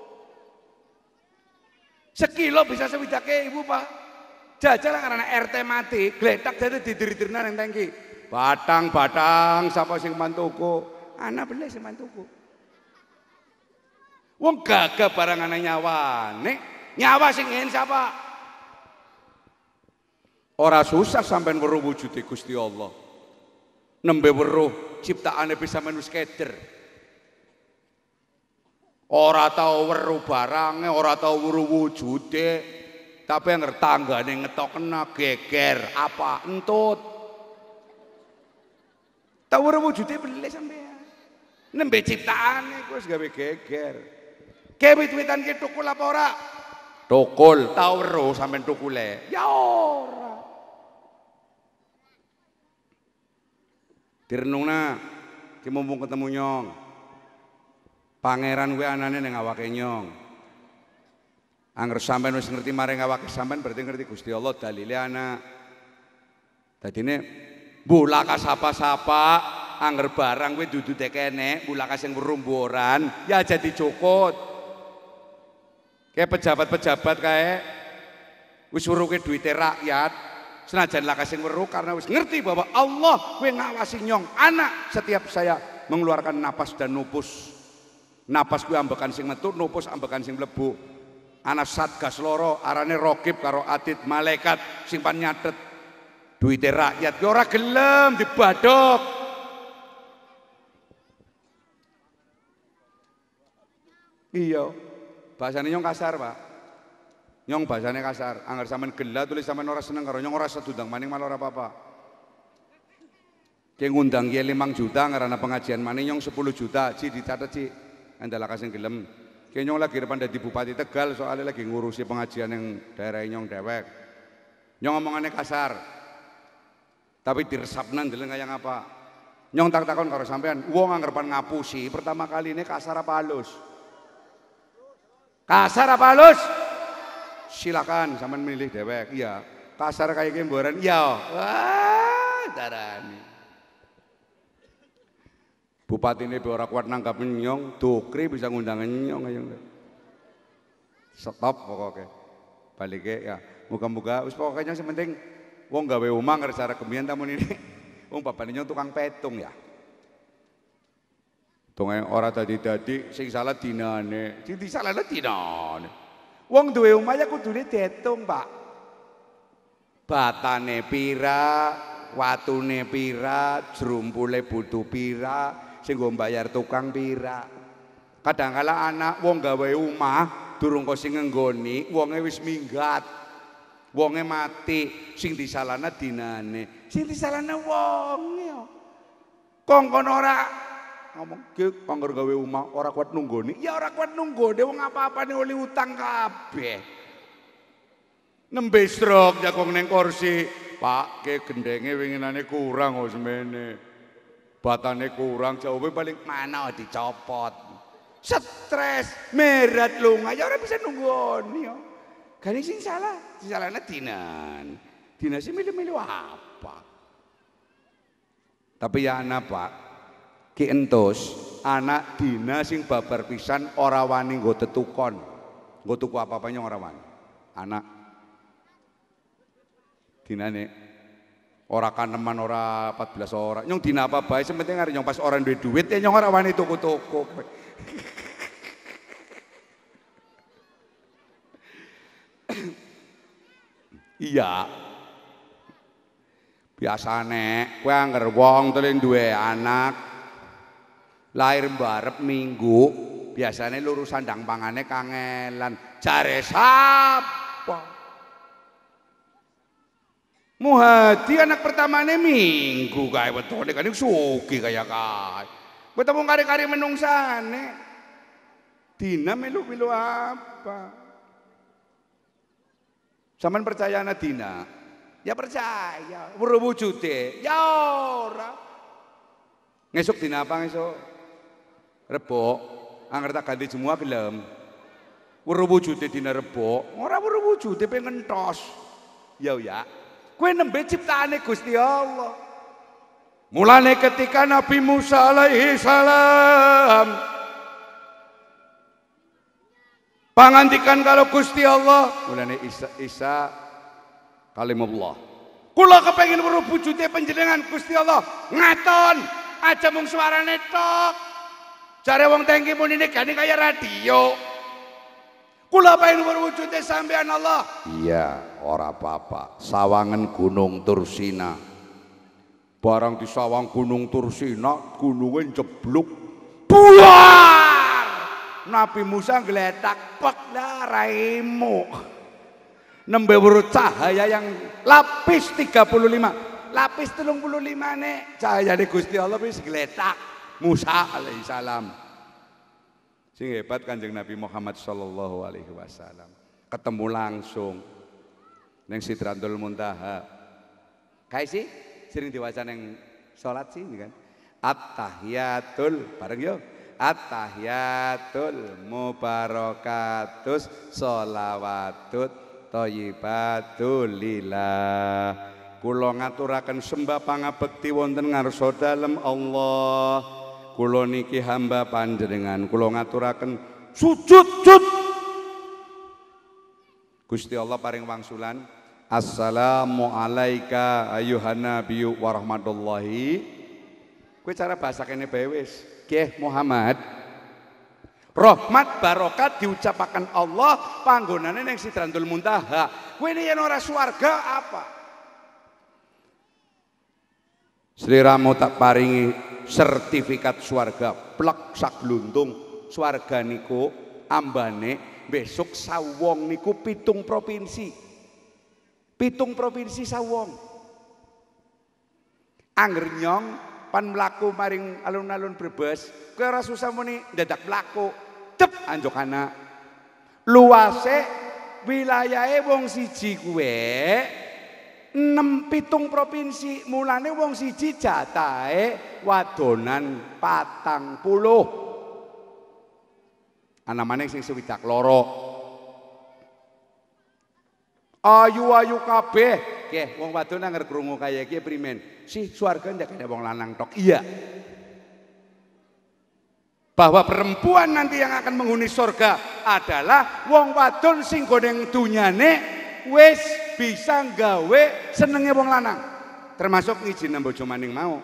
Sekilo bisa sewidake ibu Pak. Jajal karena R T mati, gletak jadi didir-dirna nang tangki. Batang-batang sapa sing mantuku? Ana beli sing mantuku. Wong gagah barang ana nyawane. Nyawa sing ngene sapa? Ora susah sampean weruh wujude Gusti Allah. Nembe weruh ciptaane bisa manus keder. Ora tau weruh barange, ora tau weruh wujude, tapi yang tanggane ngetok kena geger apa entut. Tau weruh wujude beli sampean. Nembe ciptaane kuwi wis gawe geger. Kewit-witan ki tukul apa ora? Tukul, tau weruh sampean tukule. Ya ora. Direnungna ki mumpung ketemu nyong. Pangeran kuwi anane ning awake nyong. Angger sampean wis ngerti maring awake sampean berarti ngerti Gusti Allah dalile ana. Dadine bulaka sapa-sapa angger barang kuwi dudu tekene, bulaka sing werumburan ya jadi cukut. Kayak pejabat-pejabat kae wis weruke duwite rakyat, senajan laka sing weruh karena wis ngerti bahwa Allah kuwi ngawasi nyong anak setiap saya mengeluarkan napas dan nupus. Napas kuwi ambekan sing metu, nupus ambekan sing mlebu. Ana satgas loro arane Raqib karo Atid, malaikat sing pan nyatet duwite rakyat ki ora gelem dibadhok. Iya, bahasane nyong kasar, Pak. Nyong bahasane kasar. Angger sampean gelah tulis sampean ora seneng karo nyong ora sedundang maning malah ora apa-apa. Ki ngundang kiye limang juta ngarana pengajian maning nyong sepuluh juta, Ci dicatet Ci. Andala kasing gelem. Ki nyong lagi depan dadi Bupati Tegal soalnya lagi ngurusi pengajian yang daerah nyong dewek. Nyong ngomongane kasar. Tapi diresapnan deleng kaya ngapa. Nyong tak takon karo sampean, wong angger pan ngapusi pertama kali ini kasar apa halus? Kasar apa halus? Silakan sampean milih dewek. Iya, kasar kayak gemboran. Iya. Wah, darani. Bupati ini ora kuat nangkap nyong, Dukri bisa ngundang nyong ayo. Stop pokoknya. Balik ya. Muga-muga wis pokoknya yang penting wong gawe omah ngersara kemian tamun ini. Wong bapane nyong tukang petung ya. Tungai ora dadi-dadi sing salah dinane, sing disalahne dinane. Wong duwe omah ya kudune diitung, Pak. Batane pira, watune pira, jrumpule butuh pira, sing nggo mbayar tukang pira. Kadangkala anak wong gawe omah durung kok sing ngenggoni, wonge wis minggat. Wonge mati, sing disalahna dinane. Sing disalahna wonge. Kongkon ora ngomong ki anggar gawe omah ora kuat nunggoni. Ya ora kuat nunggone wong apa-apane oleh utang kabeh. Nembe stroke jakong ning kursi, Pak, ke gendenge winginane kurang kok semene. Batane kurang, jawabe paling mana dicopot. Stres, merat lunga, ya ora bisa nunggoni yo. Gane sing salah, sing salahna dinan. Dinan sing milih-milih apa? Tapi ya anak Pak, ki entus anak dina sing babar pisan ora wani nggo tetukon. Nggo tuku apa-apa nyong ora wani. Anak dinane ora kaneman ora empat belas ora. Nyong dina apa bae sementing arep nyong pas ora duwe duit ya nyong ora wani tuku-tuku. Iya. Biasane kowe angger wong teling duwe anak lahir mbarep minggu, biasane luru sandang pangane kangelan. Jare sapa? Muhadi anak pertamane minggu kae wetone kan sugih kaya kae. Ketemu kari-kari menungsane. Dina melu-melu apa? Sampeyan percaya ana dina? Ya percaya. Weruh wujude? Ya ora. Ngesuk dina apa ngesuk? Rebo. Angger tak ganti semua gelem. Weruh wujude dina Rebo. Ora weruh wujude pengen entos. Ya ya. Kowe nembe ciptaane Gusti Allah. Mulane ketika Nabi Musa alaihi salam pangandikan kalau Gusti Allah, mulane Isa, Isa kalimullah. Kula kepengin weruh wujude panjenengan Gusti Allah. Ngaton, aja mung suarane tok. Jare wong tengki mun ini gane kaya radio. Kula pengen weruh wujude sampean Allah. Iya, ora apa-apa. Sawangan Gunung Tursina. Barang di sawang Gunung Tursina, gununge jebluk. Buar! Nabi Musa geletak pek lah raimu. Nembe weruh cahaya yang lapis tiga puluh lima. Lapis tiga puluh lima nek cahayane Gusti Allah wis geletak. Musa alaihi salam. Sing hebat Kanjeng Nabi Muhammad sallallahu alaihi wasallam. Ketemu langsung ning Sidratul Muntaha. Kae sih sering diwaca ning salat sih kan. At-tahiyatul bareng yo. At-tahiyatul mubarakatus sholawatut thayyibatul lillah. Kula ngaturaken sembah pangabekti wonten ngarsa dalem Allah. Kula niki hamba panjenengan kula ngaturaken sujud-sujud. Gusti Allah paring wangsulan. Assalamu alayka ayuhan nabiyyu wa rahmatullahi. Kowe cara bahasa kene bae wis. Nggih Muhammad. Rahmat barokat diucapakan Allah panggonane ning Sidratul Muntaha. Kowe yen ora swarga apa? Sliramu tak paringi sertifikat swarga plek sak gluntung. Swarga niku ambane besok sawong niku pitung provinsi. Pitung provinsi sawong. Angger nyong pan mlaku maring alun-alun Brebes, kowe ora susah muni dadak mlaku. Tep anjokana. Luase wilayahe wong siji kuwe enam pitung provinsi, mulane wong siji jatahe wadonan patang puluh. Ana maneh sing swidak loro. Ayu-ayu kabeh. Nggih, wong wadon anger krungu kaya iki primen? Si swarga ndak kene wong lanang tok. Iya. Bahwa perempuan nanti yang akan menghuni surga adalah wong wadon sing goneng dunyane wis bisa gawe senenge wong lanang, termasuk ngijine bojo maning mau.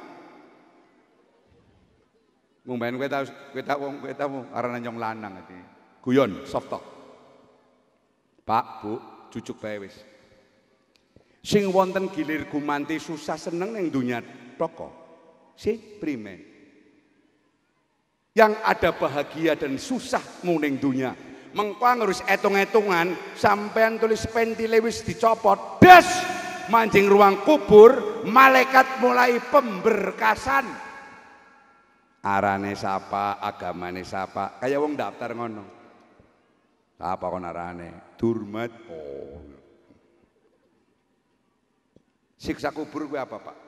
Mung ben kowe tau kowe tau wong kowe tau arane nyong lanang iki. Guyon soft talk. Pak, Bu, jujuk bae wis. Sing wonten gilir gumanti susah seneng ning dunya tok. Si primen. Yang ada bahagia dan susah muning dunia. Mengko ngurus etung-etungan sampean tulis pentile wis dicopot, das mancing ruang kubur, malaikat mulai pemberkasan. Arane sapa, agamane sapa, kaya wong daftar ngono. Apa kon arane? Durmat. Oh. Siksa kubur kuwi apa, Pak?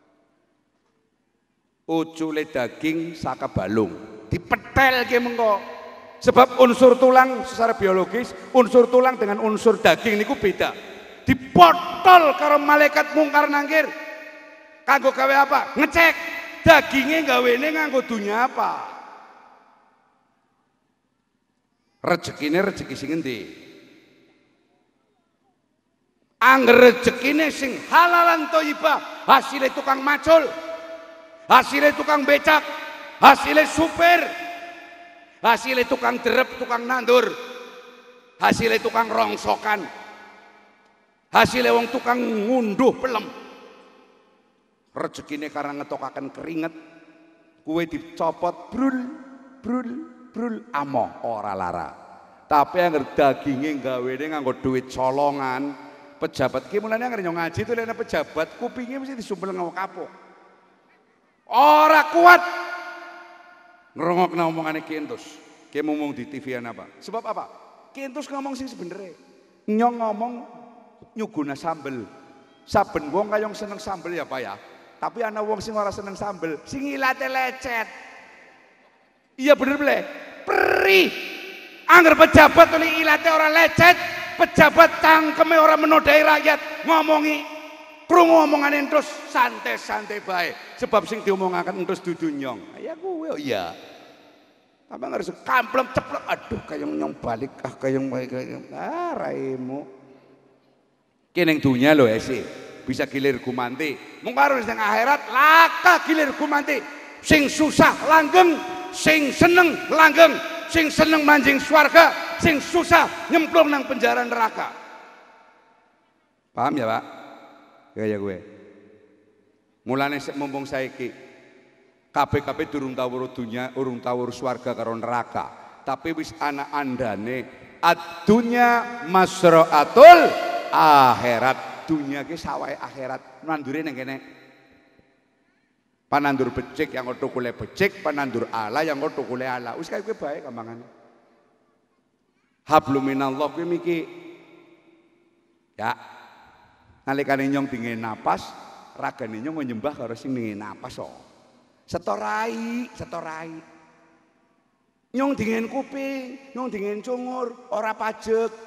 Ucule daging saka balung. Dipetel ke mengko. Sebab unsur tulang secara biologis, unsur tulang dengan unsur daging niku beda. Dipotol karo malaikat mungkar nangkir. Kanggo gawe apa? Ngecek dagingnya gawene nganggo dunya apa. Rezekine rezeki sing endi? Angger rezekine sing halalan thayyibah, hasilnya tukang macul, hasilnya tukang becak, hasilnya supir, hasilnya tukang derep, tukang nandur, hasilnya tukang rongsokan, hasilnya wong tukang ngunduh pelem. Rezekine karena ngetokaken keringet, kue dicopot brul brul brul amoh ora lara. Tapi angger dagingnya gawene nganggo duit colongan. Pejabat ki mulane angger nyong ngaji itu lene pejabat kupingnya mesti disumpel ngawak kapok. Ora kuat ngrungokna omongane Ki Entus. Ki ngomong di T V-an apa? Sebab apa? Ki Entus ngomong sing sebenere. Nyong ngomong nyuguna sambel. Saben wong kayong seneng sambel ya Pak ya. Tapi ana wong sing ora seneng sambel, sing ilate lecet. Iya bener ble. Perih. Angger pejabat oleh ilate ora lecet, pejabat tangkeme ora menodai rakyat, ngomongi krungu omongane entus santai-santai bae. Sebab sing diomongaken entus dudu nyong. Ya kuwe iya. Apa harus kamplem ceplok, aduh kayong nyong balik ah kayong kayong ah raimu. Ki ning dunya lho esi bisa gilir gumanti. Mung karo ning akhirat laka gilir gumanti. Sing susah langgeng, sing seneng langgeng, sing seneng manjing swarga, sing susah nyemplung nang penjara neraka. Paham ya Pak? Kaya gue. Mulane mumpung saiki kabeh-kabeh durung tau weruh dunya, urung tau weruh swarga karo neraka. Tapi wis ana andane ad-dunya masra'atul akhirat. Dunya ki sawahe akhirat. Nandure ning kene. Panandur becik yang tukule becik, panandur ala yang tukule ala. Wis kaya kowe bae gampangane. Hablum minallah kuwi miki ya nalikane nyong dingin napas, ragane nyong nyembah karo sing dingin napas kok. Setorai, setorai. Nyong dingin kuping, nyong dingin cungur, ora pajek.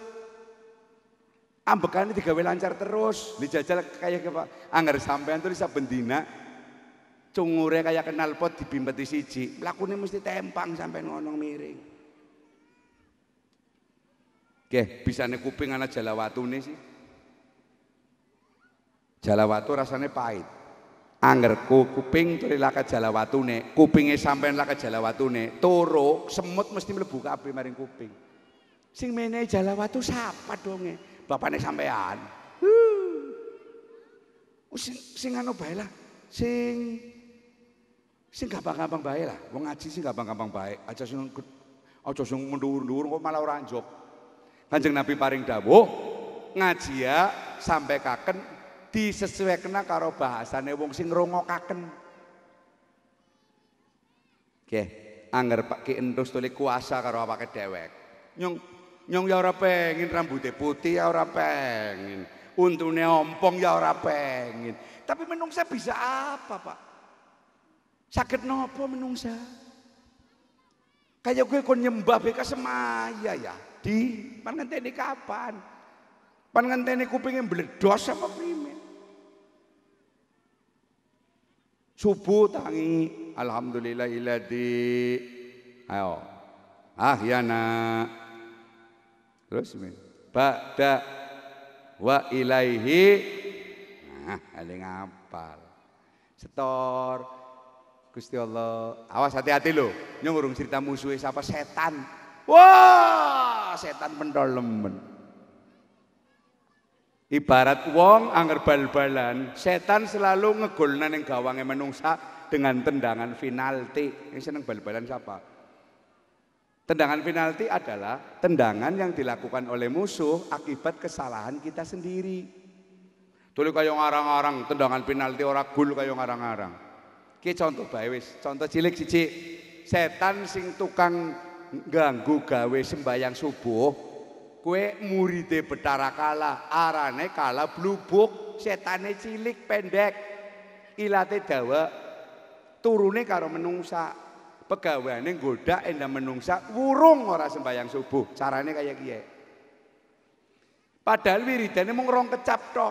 Ambekane digawe lancar terus, dijajal kayak apa? Angger sampean tuh saben dina cungure kayak kenal pot dibimbeti siji, lakune mesti tempang sampean ngono miring. Oke, bisane kuping ana jalawatune sih. Jalawatu rasanya pahit. Anggerku kuping turi laka jalawatune, kupinge sampean laka jalawatune, turu semut mesti mlebu kabeh maring kuping. Sing menehi jalawatu sapa donge? Bapakne sampean. Uh. Sing sing anu bae lah. Sing sing gampang-gampang bae lah. Wong ngaji sing gampang-gampang bae. Aja sing aja sing mundur-mundur kok malah ora njok. Kanjeng Nabi paring dawuh, ngaji ya sampai kaken disesuaikan karo bahasane wong sing ngrungokaken. Oke, angger Pak Ki Endus tuli kuasa karo awake dhewek. Nyong nyong ya ora pengin rambutnya putih ya ora pengin. Untune ompong ya ora pengin. Tapi menungsa bisa apa, Pak? Sakit nopo menungsa? Kayak gue kon nyembah beka semaya ya. Di pan ngenteni kapan? Pan ngenteni kupingnya bledos apa primen? Subuh tangi alhamdulillahilladzi ayo ahyana terus ba'da wa ilaihi nah ada ngapal setor Gusti Allah awas hati-hati loh nyong urung cerita musuhnya siapa setan wah setan pentol lemen. Ibarat wong angger bal-balan, setan selalu ngegolna ning gawange menungsa dengan tendangan penalti. Yang seneng bal-balan siapa? Tendangan penalti adalah tendangan yang dilakukan oleh musuh akibat kesalahan kita sendiri. Tuli kaya ngarang-arang tendangan penalti ora gol kaya ngarang-arang. Ki contoh bae wis, contoh cilik siji. Setan sing tukang ganggu gawe sembayang subuh. Kue muride Bathara Kala, arane Kala blubuk, setane cilik pendek, ilate dawa, turune karo menungsa, pegaweane nggoda endam menungsa, wurung ora sembayang subuh, carane kayak kiye. Padahal wiridane mung rong kecap tok.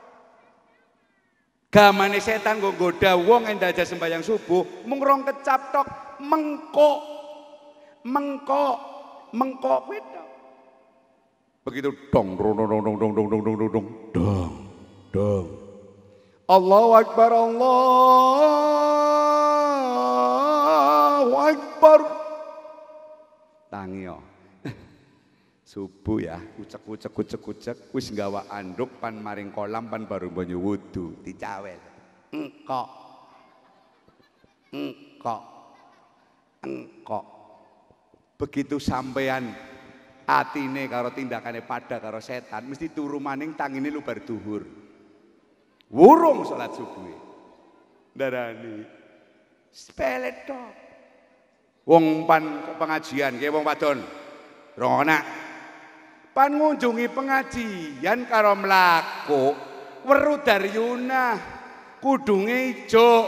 Gamane setan nggo nggoda wong endam aja sembayang subuh, mung rong kecap tok, mengkok, mengkok, mengkok kuwi. Begitu dong dong dong dong dong dong dong dong dong dong dong dong Allahu Akbar Allahu Akbar tangi yo subuh ya kucek kucek kucek kucek wis nggawa anduk pan maring kolam pan baru banyu wudu dicawel engkok engkok engkok begitu sampean atine karo tindakane pada karo setan mesti turu maning tangine lubar duhur wurung salat subuh darani sepele tok wong pan pengajian kaya wong wadon rongona pan ngunjungi pengajian karo mlaku weru daryuna kudunge ijo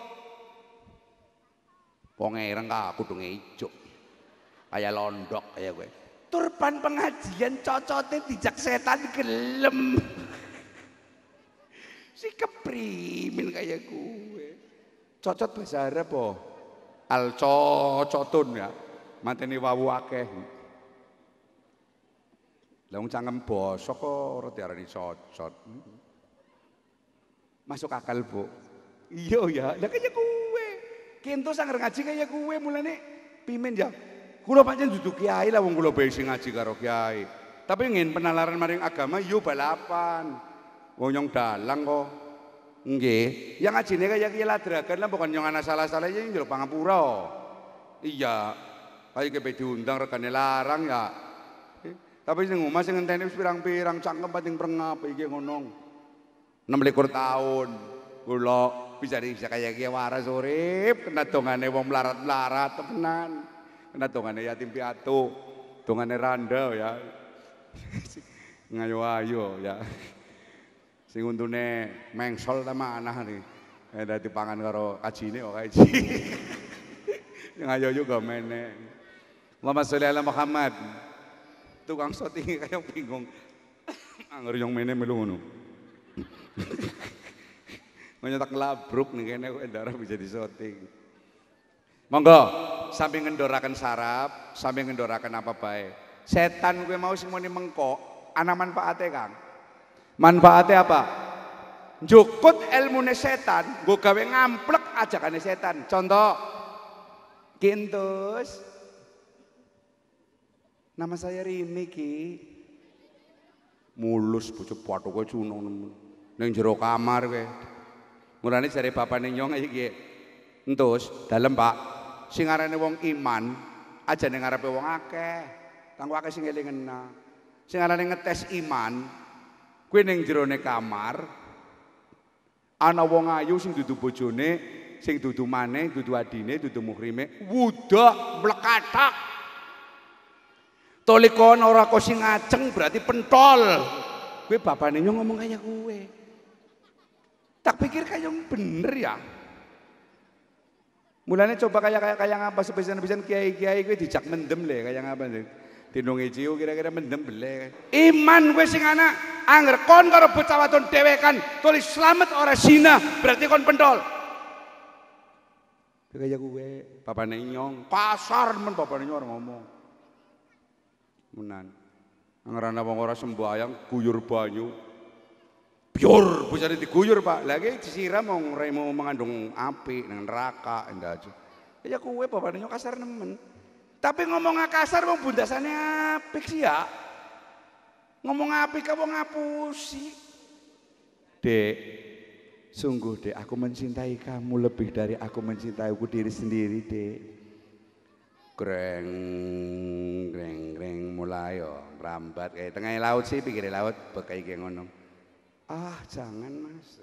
wong ireng ka kudunge ijo kaya londok kaya kowe turpan pengajian cocote dijak setan gelem si keprimin kayak gue cocot bahasa Arab po al cocotun ya mateni wawu akeh lah wong cangkem basa kok ora diarani cocot masuk akal Bu iya ya lah kayak gue kento sanger ngaji kayak gue mulane pimen ya kula pancen duduk kiai lah wong kula bae sing ngaji karo kiai. Tapi ngin penalaran maring agama yo balapan. Wong nyong dalang kok. Nggih, yang ngajine kaya kiai ladragan lah bukan nyong ana salah-salah ya njero pangapura. Iya. Kaya kepe diundang regane larang ya. Tapi sing omah sing ngenteni wis pirang-pirang cangkem pating prengap iki ngono. enam likur tahun kula bisa bisa kaya kiai waras urip kena dongane wong melarat-melarat temenan. Kena dongane yatim piatu, dongane randa ya. Ngayo-ayo ya. Sing untune mengsol ta manah nih. Eh dadi pangan karo kajine kok kaji. Ngayo juga meneh. Allahumma sholli ala Muhammad. Tukang shooting kayak bingung. Angger yang meneh melu ngono. Nyetak labruk nih kene kok darah bisa di shooting. Monggo, sambil ngendorakan sarap, sambil ngendorakan apa baik. Setan gue mau sing muni mengkok, ana manfaate Kang. Manfaate apa? njukut ilmune setan, nggo gawe ngamplek ajakane setan. Contoh, Kintus. Nama saya Rini Ki. Mulus bocah pathuke cuno ning jero kamar kowe. Mulane jare bapane nyong iki. Entus, dalem Pak. Sing arane wong iman aja ning ngarepe wong akeh. Kanggo akeh sing elingena. Sing arane ngetes iman kuwi ning jerone kamar ana wong ayu sing dudu bojone, sing dudu maneh, dudu adine, dudu muhrime, wudak mlekathak. Tolikon ora kok sing ngajeng berarti pentol. Kuwi bapane nyong ngomong kaya kuwe. Tak pikir kaya bener ya. Mulane coba kaya kaya kaya ngapa sepisan-pisan kiai-kiai kuwi dijak mendem le kaya ngapa sih. Dinungi ciu kira-kira mendem bele. Iman kowe sing ana anger kon karo bocah wadon dhewekan tulis slamet ora zina berarti kon pentol. Kaya kuwe bapane nyong kasar men bapane nyong ngomong. Menan angarana wong ora sembayang guyur banyu biur bocane diguyur Pak lagi disiram wong remo mengandung api nang neraka endah aja ya kuwe bapane nyok kasar nemen tapi ngomong kasar wong bundasane apik sih ya ngomong apik ka wong ngapusi Dek sungguh Dek aku mencintai kamu lebih dari aku mencintaiku diri sendiri Dek. Greng greng greng mulai yo merambat kayak tengah laut sih pinggir laut bekai kayak ngono. Ah jangan Mas.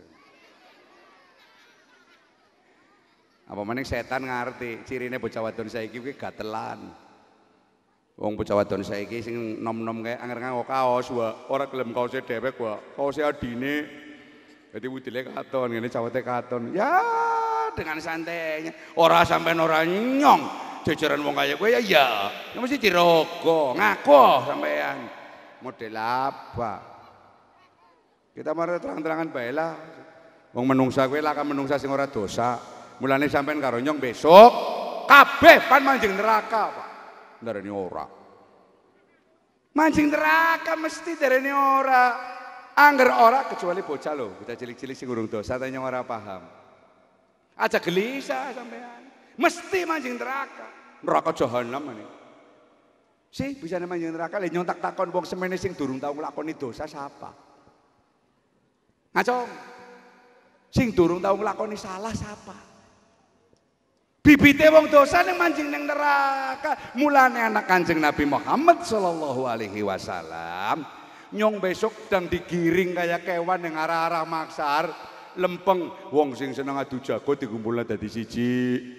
Apa maning setan ngerti cirine bocah wadon saiki kuwi gatelan. Wong bocah wadon saiki sing nom-nom kayak anger nganggo kaos wae ora gelem kaose dhewek wae. Kaose adine. Dadi wudile katon ngene cawete katon. Ya dengan santainya ora sampean ora nyong. Jajaran wong kaya kowe ya ya, ya mesti dirogo, ngaku sampean. Model apa? Kita mari terang-terangan bae lah. Wong menungsa kowe lah kan menungsa sing ora dosa. Mulane sampean karo nyong besok kabeh pan manjing neraka, Pak. Ndarani ora. Manjing neraka mesti darane ora. Angger ora kecuali bocah lho, bocah cilik-cilik sing urung dosa ta nyong ora paham. Aja gelisah sampean. Mesti manjing neraka. Neraka jahanam ini. Sih bisa manjing neraka lha nyontak takon wong semene sing durung tau nglakoni dosa sapa? Ngacong. Sing durung tau nglakoni salah sapa? Bibite wong dosa ning manjing ning neraka. Mulane anak Kanjeng Nabi Muhammad sallallahu alaihi wasallam nyong besok sedang digiring kaya kewan ning arah-arah maksar lempeng wong sing seneng adu jago dikumpulna dadi siji.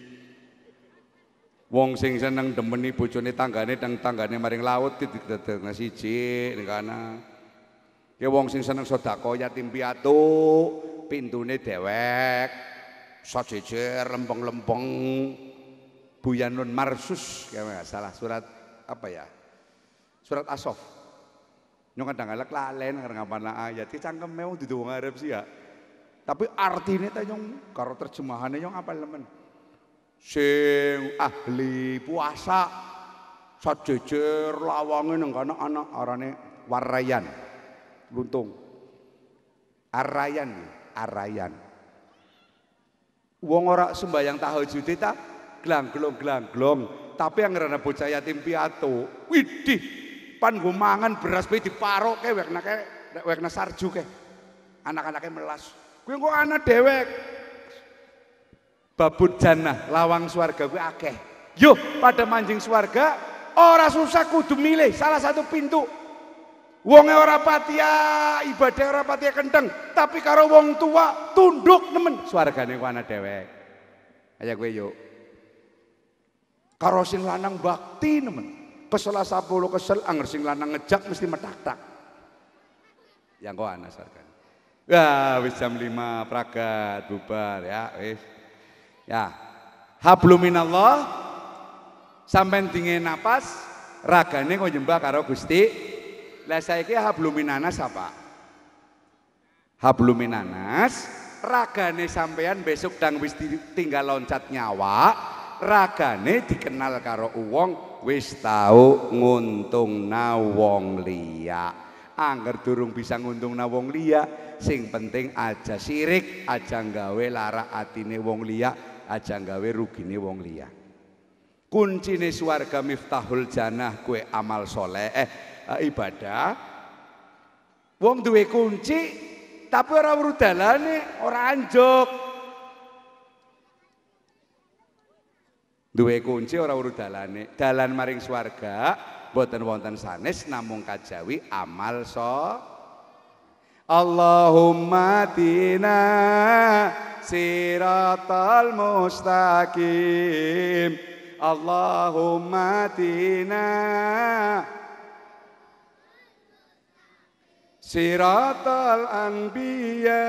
Wong sing seneng demeni bojone tanggane nang tanggane maring laut didadekna siji ning kana. Ya wong sing seneng sedekah yatim piatu pintune dewek sajejer lempeng-lempeng Buyanun Marsus ya salah surat apa ya? Surat As-Saff. Nyong kadang-kadang lalen karena ngapana ayat ki cangkeme wong dudu wong Arab sih ya. Tapi artine ta nyong karo terjemahane nyong apal lemen. Sing ahli puasa sajejer lawange nang kana anak arane Warayan luntung Arayan Arayan wong ora sembayang tahajud ta glang-glong-glang-glong tapi anggere bocah yatim piatu widih pan nggo mangan beras bae diparoke wekna wekna sarju ke anak-anake melas kuwi kok ana dewek babut jannah lawang swarga kuwi akeh. Yo pada manjing swarga ora susah kudu milih salah satu pintu. Wonge ora patia ibadah ora patia kendeng, tapi karo wong tua tunduk nemen swargane ku ana dhewek. Kaya kowe yo. Karo sing lanang bakti nemen. Kesel sepuluh kesel anger sing lanang ngejak mesti metak-tak. Yang kok ana swargane. Wah, wis jam lima pragat bubar ya, wis. Ya, hablum minallah sampean dingin napas ragane kok nyembah karo Gusti. Lah saiki hablum minanas apa? Hablum minanas ragane sampean besok dang wis tinggal loncat nyawa, ragane dikenal karo wong wis tau nguntungna wong liya. Angger durung bisa nguntungna wong liya sing penting aja sirik, aja nggawe lara atine wong liya, aja nggawe rugine wong liya. Kuncine swarga miftahul jannah kue amal soleh eh ibadah. Wong duwe kunci tapi ora weruh dalane, ora anjuk. Duwe kunci ora weruh dalane, dalan maring swarga boten wonten sanes namung kajawi amal so. Allahumma tina siratal mustaqim. Allahumma tina siratal anbiya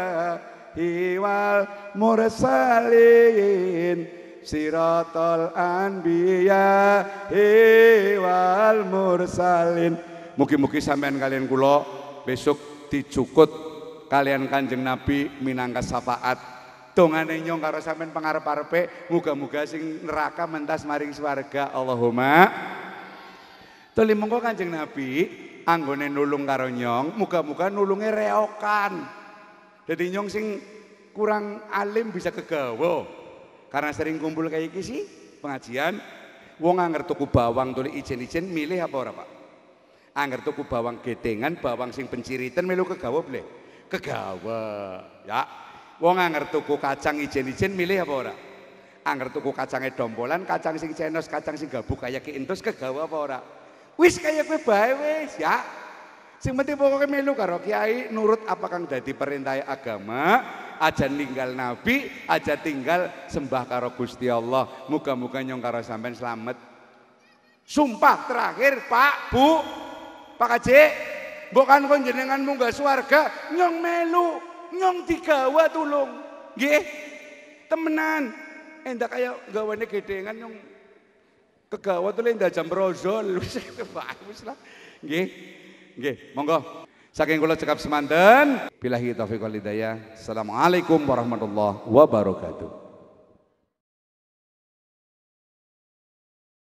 wal mursalin. Siratal anbiya wal mursalin. Mugi-mugi sampean kalian kula besok dicukut kalian Kanjeng Nabi minangka syafaat. Dongane nyong karo sampean pangarep-arepe muga-muga sing neraka mentas maring swarga. Allahumma. Tuli monggo Kanjeng Nabi anggone nulung karo nyong, muga-muga nulunge reokan. Jadi nyong sing kurang alim bisa kegawa. Karena sering kumpul kayak iki sih pengajian, wong angger tuku bawang tuli ijen-ijen milih apa ora Pak? Angger tuku bawang gedengan, bawang sing penciritan melu kegawa boleh? Kegawa, ya. Wong angger tuku kacang ijen-ijen milih apa ora? Angger tuku kacangnya dompolan, kacang sing cenos, kacang sing gabuk kayak keintus kegawa apa ora? Wis kayak kowe bae wis, ya. Sing penting pokoknya melu karo kiai nurut apa kang dadi perintah agama. Aja ninggal Nabi, aja tinggal sembah karo Gusti Allah. Muga-muga nyong karo sampean selamat. Sumpah terakhir Pak, Bu, Pak Haji, bukan kon jenengan munggah swarga, nyong melu, nyong digawa tulung. Nggih. Temenan. Endak kaya gawane gedengan nyong kegawa tulung ndak jam brozol. Wis bagus lah. Nggih. Nggih, monggo. Saking kula cekap semanten, billahi taufiq wal hidayah. Assalamualaikum warahmatullahi wabarakatuh.